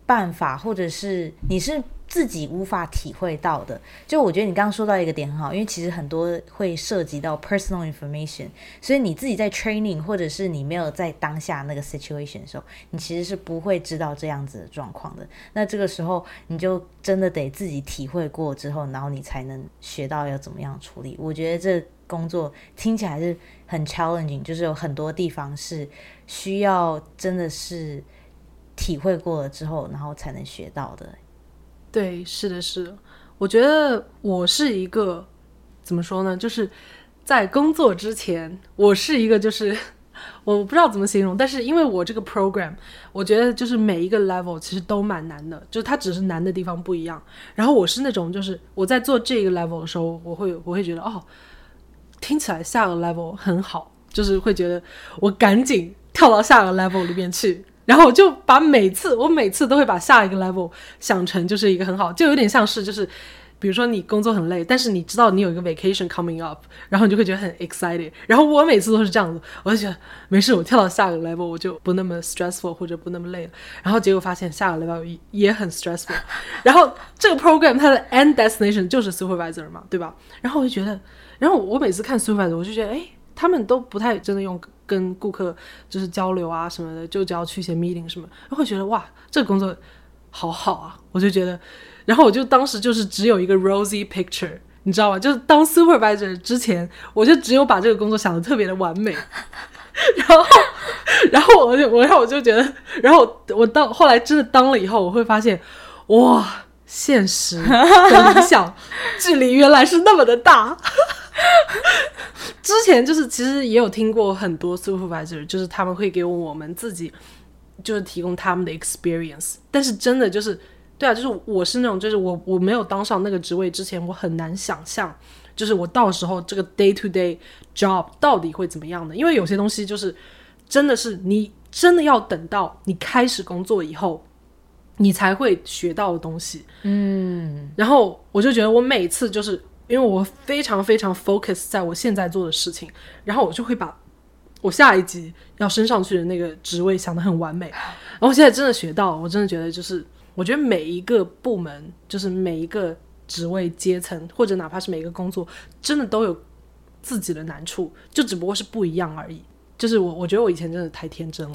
办法，或者是你是自己无法体会到的。就我觉得你刚刚说到一个点很好，因为其实很多会涉及到 personal information， 所以你自己在 training 或者是你没有在当下那个 situation 的时候，你其实是不会知道这样子的状况的。那这个时候你就真的得自己体会过之后，然后你才能学到要怎么样处理。我觉得这工作听起来是很 challenging， 就是有很多地方是需要真的是体会过了之后，然后才能学到的。 对，是的，是的。我觉得我是一个怎么说呢，就是在工作之前，我是一个就是我不知道怎么形容，但是因为我这个 program， 我觉得就是每一个 level 其实都蛮难的，就是它只是难的地方不一样。然后我是那种就是我在做这个 level 的时候，我会我会觉得哦，听起来下个 level 很好，就是会觉得我赶紧跳到下个 level 里面去。然后我就把每次我每次都会把下一个 level 想成就是一个很好，就有点像是就是比如说你工作很累，但是你知道你有一个 vacation coming up， 然后你就会觉得很 excited。 然后我每次都是这样子，我就觉得没事，我跳到下个 level 我就不那么 stressful 或者不那么累了。然后结果发现下个 level 也很 stressful。 然后这个 program 它的 end destination 就是 supervisor 嘛，对吧？然后我就觉得，然后我每次看 supervisor 我就觉得哎，他们都不太真的用跟顾客就是交流啊什么的，就只要去一些 meeting 什么，然后会觉得哇，这个工作好好啊，我就觉得，然后我就当时就是只有一个 rosy picture， 你知道吗？就是当 supervisor 之前，我就只有把这个工作想得特别的完美，然后，然后我就我然后我就觉得，然后我到后来真的当了以后，我会发现，哇，现实和理想距离原来是那么的大。之前就是其实也有听过很多 supervisor， 就是他们会给我们自己就是提供他们的 experience， 但是真的就是对啊，就是我是那种就是我我没有当上那个职位之前，我很难想象就是我到时候这个 day to day job 到底会怎么样的。因为有些东西就是真的是你真的要等到你开始工作以后你才会学到的东西。嗯，然后我就觉得我每次就是因为我非常非常 focus 在我现在做的事情，然后我就会把我下一集要升上去的那个职位想得很完美。然后现在真的学到，我真的觉得就是我觉得每一个部门就是每一个职位阶层或者哪怕是每一个工作真的都有自己的难处，就只不过是不一样而已。就是我我觉得我以前真的太天真了。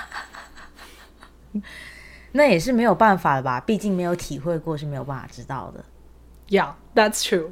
那也是没有办法的吧，毕竟没有体会过是没有办法知道的。 Yeah, that's true。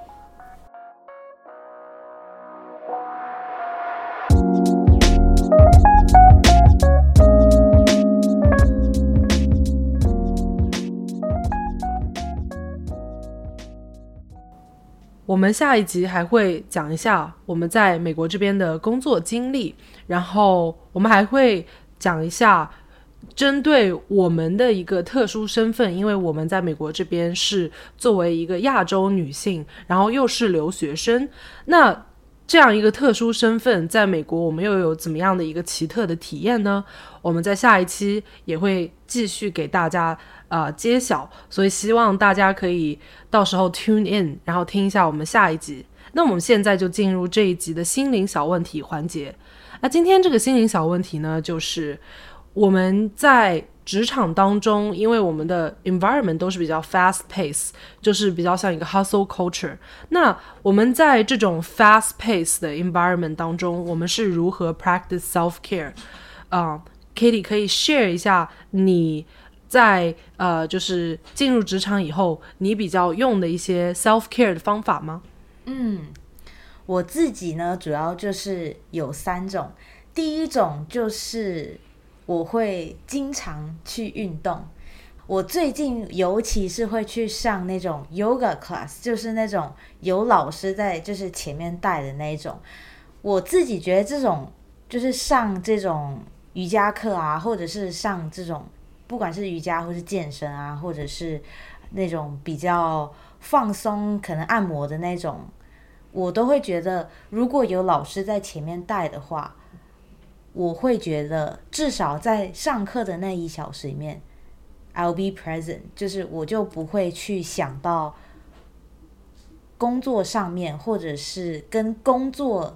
我们下一集还会讲一下我们在美国这边的工作经历，然后我们还会讲一下针对我们的一个特殊身份，因为我们在美国这边是作为一个亚洲女性，然后又是留学生，那这样一个特殊身份在美国我们又有怎么样的一个奇特的体验呢？我们在下一期也会继续给大家呃揭晓，所以希望大家可以到时候 tune in， 然后听一下我们下一集。那我们现在就进入这一集的心灵小问题环节。那今天这个心灵小问题呢，就是我们在职场当中，因为我们的 environment 都是比较 fast pace， 就是比较像一个 hustle culture， 那我们在这种 fast pace 的 environment 当中，我们是如何 practice self care？ 啊、uh, Katie 可以 share 一下你在呃就是进入职场以后你比较用的一些 self care 的方法吗？ 嗯，我自己呢主要就是有三种。第一种就是我会经常去运动，我最近尤其是会去上那种 yoga class， 就是那种有老师在就是前面带的那种。我自己觉得这种就是上这种瑜伽课啊，或者是上这种不管是瑜伽或是健身啊，或者是那种比较放松可能按摩的那种，我都会觉得如果有老师在前面带的话，我会觉得至少在上课的那一小时里面 I'll be present， 就是我就不会去想到工作上面或者是跟工作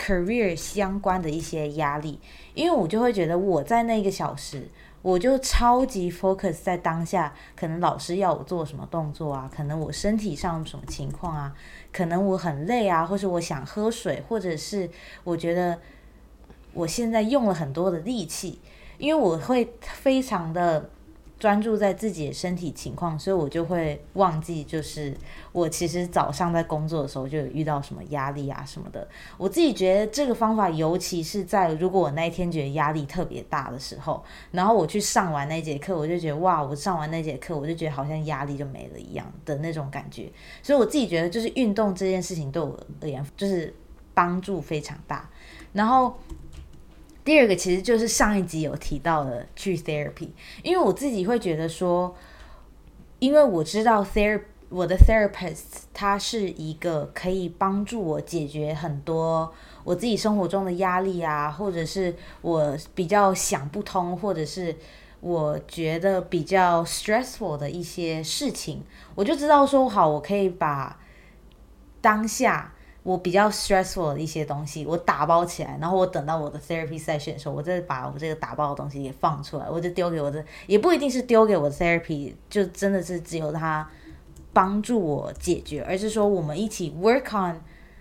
career 相关的一些压力，因为我就会觉得我在那一个小时我就超级 focus 在当下，可能老师要我做什么动作啊，可能我身体上有什么情况啊，可能我很累啊，或是我想喝水，或者是我觉得我现在用了很多的力气，因为我会非常的专注在自己的身体情况，所以我就会忘记就是我其实早上在工作的时候就有遇到什么压力啊什么的。我自己觉得这个方法尤其是在如果我那一天觉得压力特别大的时候，然后我去上完那节课，我就觉得哇，我上完那节课我就觉得好像压力就没了一样的那种感觉。所以我自己觉得就是运动这件事情对我而言就是帮助非常大。然后第二个其实就是上一集有提到的去 therapy， 因为我自己会觉得说，因为我知道 therapy 我的 therapist 他是一个可以帮助我解决很多我自己生活中的压力啊，或者是我比较想不通，或者是我觉得比较 stressful 的一些事情，我就知道说好，我可以把当下我比较 stressful 的一些东西我打包起来，然后我等到我的 therapy session 的时候，我再把我这个打包的东西也放出来，我就丢给我的，也不一定是丢给我的 therapy， 就真的是只有他帮助我解决，而是说我们一起 work on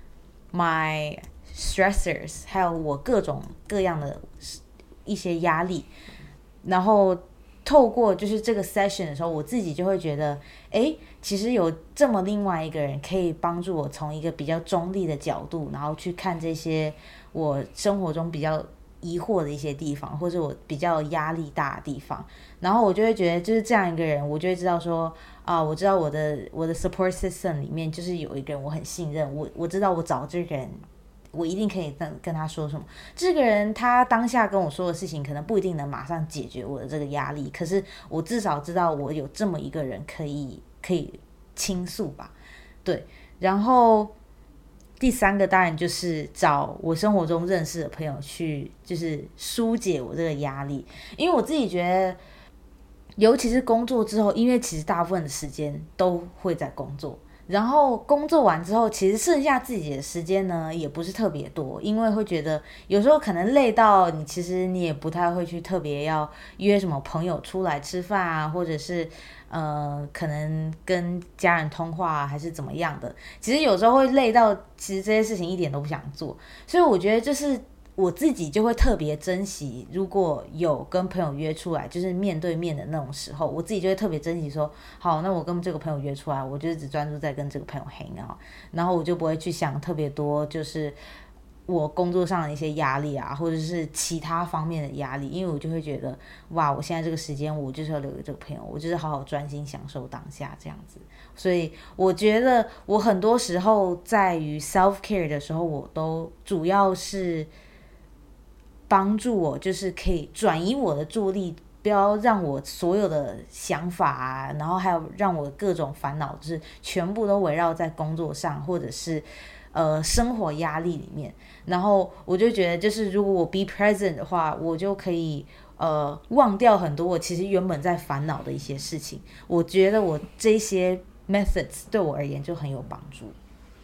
my stressors， 还有我各种各样的一些压力，然后透过就是这个 session 的时候，我自己就会觉得诶，其实有这么另外一个人可以帮助我从一个比较中立的角度，然后去看这些我生活中比较疑惑的一些地方，或者我比较压力大的地方，然后我就会觉得就是这样一个人，我就会知道说啊，我知道我的我的 support system 里面就是有一个人我很信任，我我知道我找这个人我一定可以跟跟他说什么，这个人他当下跟我说的事情可能不一定能马上解决我的这个压力，可是我至少知道我有这么一个人可以可以倾诉吧。对，然后第三个当然就是找我生活中认识的朋友去就是疏解我这个压力，因为我自己觉得尤其是工作之后，因为其实大部分的时间都会在工作，然后工作完之后其实剩下自己的时间呢也不是特别多，因为会觉得有时候可能累到你其实你也不太会去特别要约什么朋友出来吃饭啊，或者是呃可能跟家人通话啊，还是怎么样的，其实有时候会累到其实这些事情一点都不想做，所以我觉得就是我自己就会特别珍惜，如果有跟朋友约出来就是面对面的那种时候，我自己就会特别珍惜说好，那我跟这个朋友约出来，我就只专注在跟这个朋友 hang out， 然后我就不会去想特别多就是我工作上的一些压力啊，或者是其他方面的压力，因为我就会觉得哇，我现在这个时间我就是要留给这个朋友，我就是好好专心享受当下这样子。所以我觉得我很多时候在于 self care 的时候，我都主要是帮助我就是可以转移我的注意力，不要让我所有的想法啊，然后还有让我各种烦恼就是全部都围绕在工作上，或者是呃生活压力里面，然后我就觉得就是如果我 be present 的话，我就可以呃忘掉很多我其实原本在烦恼的一些事情，我觉得我这些 methods 对我而言就很有帮助。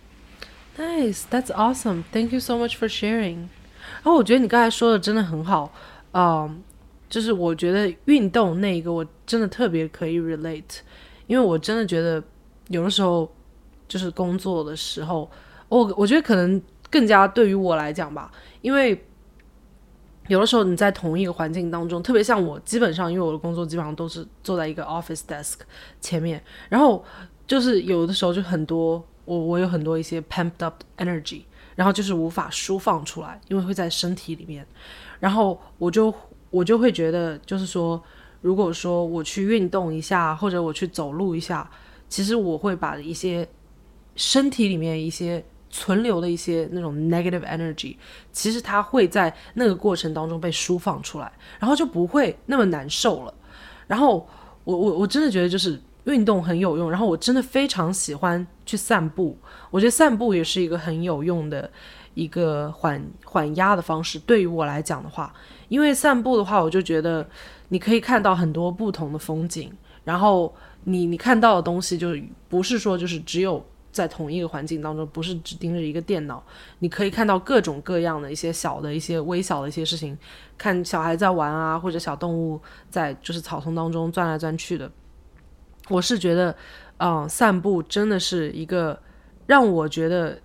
Nice, that's awesome. Thank you so much for sharing. 然后我觉得你刚才说的真的很好，嗯，就是我觉得运动那一个我真的特别可以 relate， 因为我真的觉得有的时候就是工作的时候，我我觉得可能更加对于我来讲吧，因为有的时候你在同一个环境当中，特别像我基本上因为我的工作基本上都是坐在一个 office desk 前面，然后就是有的时候就很多我我有很多一些 pumped up energy， 然后就是无法释放出来，因为会在身体里面，然后我就我就会觉得就是说如果说我去运动一下或者我去走路一下，其实我会把一些身体里面一些存留的一些那种 negative energy， 其实它会在那个过程当中被释放出来，然后就不会那么难受了。然后我我我真的觉得就是运动很有用，然后我真的非常喜欢去散步，我觉得散步也是一个很有用的一个缓缓压的方式，对于我来讲的话，因为散步的话我就觉得你可以看到很多不同的风景，然后你你看到的东西就不是说就是只有在同一个环境当中，不是只盯着一个电脑，你可以看到各种各样的一些小的一些微小的一些事情，看小孩在玩啊，或者小动物在就是草丛当中钻来钻去的。我是觉得嗯，散步真的是一个让我觉得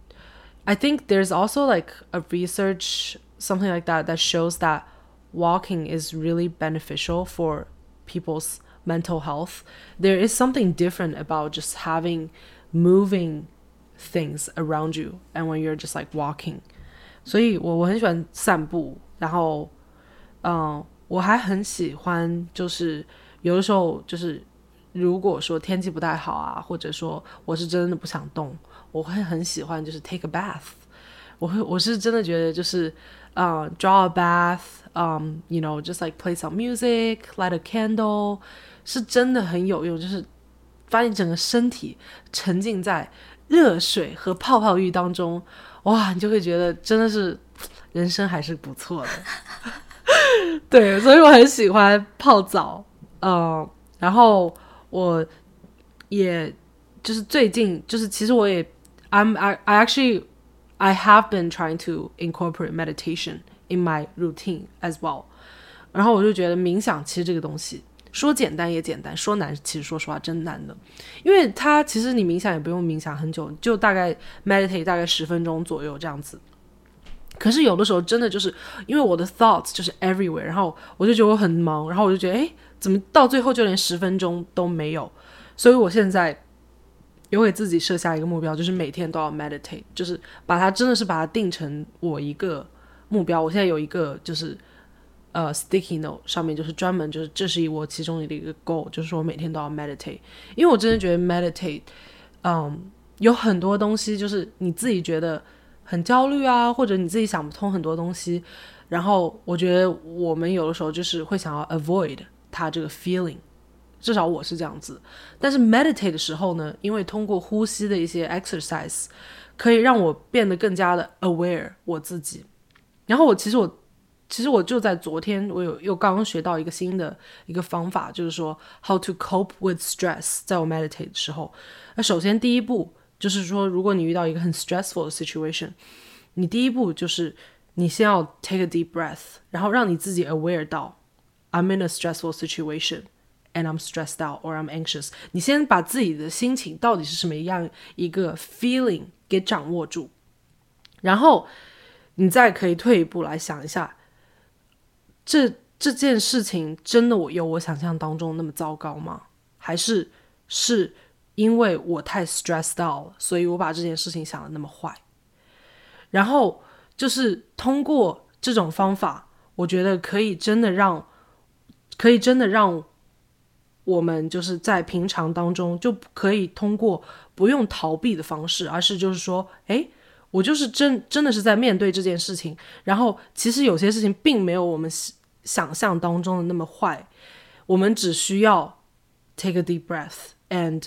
I think there's also like a research something like that that shows that walking is really beneficial for people's mental health. There is something different about just having moving things around you and when you're just like walking. 所以我我很喜欢散步，然后嗯，我还很喜欢就是有的时候就是如果说天气不太好啊，或者说我是真的不想动，我会很喜欢就是 take a bath。我会我是真的觉得就是uh, draw a bath, um, you know, just like play some music, light a candle, 是真的很有用，就是把你整个身体沉浸在热水和泡泡浴当中，哇，你就会觉得真的是人生还是不错的。对，所以我很喜欢泡澡，嗯，然后我也就是最近就是其实我也 I'm I, I actually I have been trying to incorporate meditation in my routine as well. 然后我就觉得冥想其实这个东西说简单也简单，说难其实说实话真难的，因为它其实你冥想也不用冥想很久，就大概 meditate 大概十分钟左右这样子。可是有的时候真的就是因为我的 thoughts 就是 everywhere， 然后我就觉得我很忙，然后我就觉得诶怎么到最后就连十分钟都没有。所以我现在有给自己设下一个目标，就是每天都要 meditate， 就是把它真的是把它定成我一个目标。我现在有一个就是呃 sticky note 上面就是专门就是这是我其中的一个 goal， 就是说我每天都要 meditate。 因为我真的觉得 meditate 嗯，有很多东西就是你自己觉得很焦虑啊，或者你自己想不通很多东西，然后我觉得我们有的时候就是会想要 avoid 它这个 feeling， 至少我是这样子。但是 meditate 的时候呢，因为通过呼吸的一些 exercise 可以让我变得更加的 aware 我自己。然后我其实我其实我就在昨天我有又刚刚学到一个新的一个方法，就是说 how to cope with stress。 在我 meditate 的时候，那首先第一步就是说如果你遇到一个很 stressful 的 situation， 你第一步就是你先要 take a deep breath， 然后让你自己 aware 到 I'm in a stressful situation and I'm stressed out or I'm anxious。 你先把自己的心情到底是什么样一个 feeling 给掌握住，然后你再可以退一步来想一下，这这件事情真的我有我想象当中那么糟糕吗？还是是因为我太 stressed out 了，所以我把这件事情想得那么坏。然后就是通过这种方法，我觉得可以真的让可以真的让我们就是在平常当中就可以通过不用逃避的方式，而是就是说诶我就是真真的是在面对这件事情，然后其实有些事情并没有我们想象当中的那么坏，我们只需要 take a deep breath and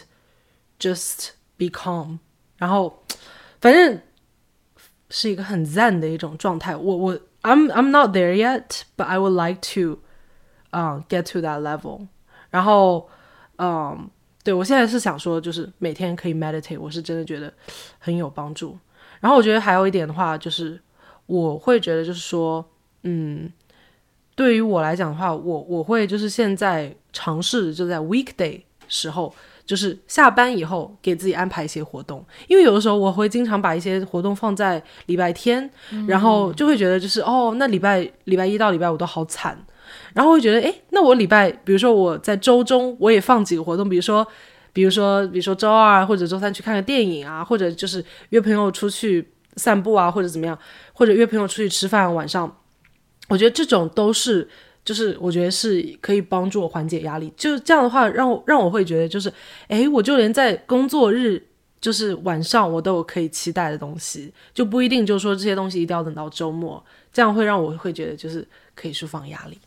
just be calm， 然后反正是一个很 zen 的一种状态。我我 I'm I'm not there yet, but I would like to uh, get to that level。 然后嗯，对，我现在是想说就是每天可以 meditate， 我是真的觉得很有帮助。然后我觉得还有一点的话就是我会觉得就是说嗯，对于我来讲的话，我我会就是现在尝试就在 weekday 时候，就是下班以后给自己安排一些活动。因为有的时候我会经常把一些活动放在礼拜天、嗯、然后就会觉得就是哦，那礼拜礼拜一到礼拜五都好惨，然后会觉得诶，那我礼拜比如说我在周中我也放几个活动，比如说比如说比如说周二或者周三去看个电影啊，或者就是约朋友出去散步啊，或者怎么样，或者约朋友出去吃饭，晚上我觉得这种都是就是我觉得是可以帮助我缓解压力。就这样的话让我让我会觉得就是诶，我就连在工作日就是晚上我都有可以期待的东西，就不一定就是说这些东西一定要等到周末，这样会让我会觉得就是可以释放压力。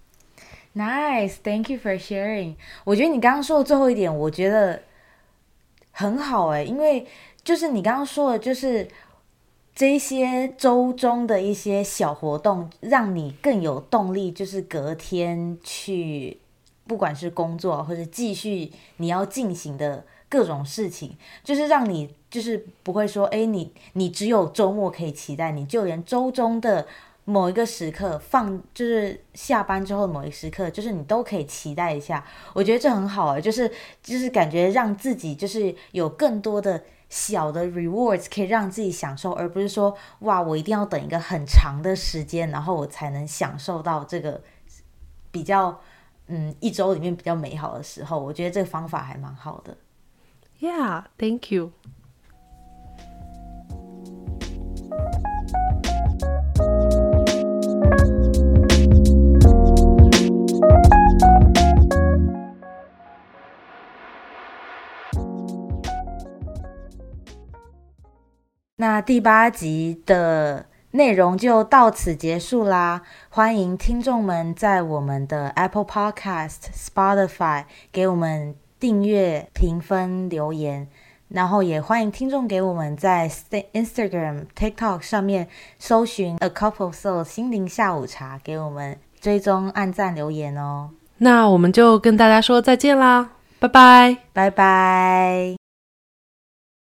Nice, thank you for sharing。 我觉得你刚刚说的最后一点我觉得很好耶，因为就是你刚刚说的就是这些周中的一些小活动让你更有动力，就是隔天去不管是工作或者继续你要进行的各种事情，就是让你就是不会说，哎，你你只有周末可以期待，你就连周中的某一个时刻放，就是下班之后的某一个时刻，就是你都可以期待一下。我觉得这很好啊，就是就是感觉让自己就是有更多的小的 rewards 可以让自己享受，而不是说哇我一定要等一个很长的时间，然后我才能享受到这个比较嗯一周里面比较美好的时候。我觉得这个方法还蛮好的。 Yeah, thank you. 那第八集的内容就到此结束啦，欢迎听众们在我们的 Apple Podcast、Spotify 给我们订阅、评分、留言，然后也欢迎听众给我们在 Instagram、TikTok 上面搜寻 A Cup of Soul 心灵下午茶，给我们追踪、按赞、留言哦。 那我们就跟大家说再见啦，拜拜， 拜拜。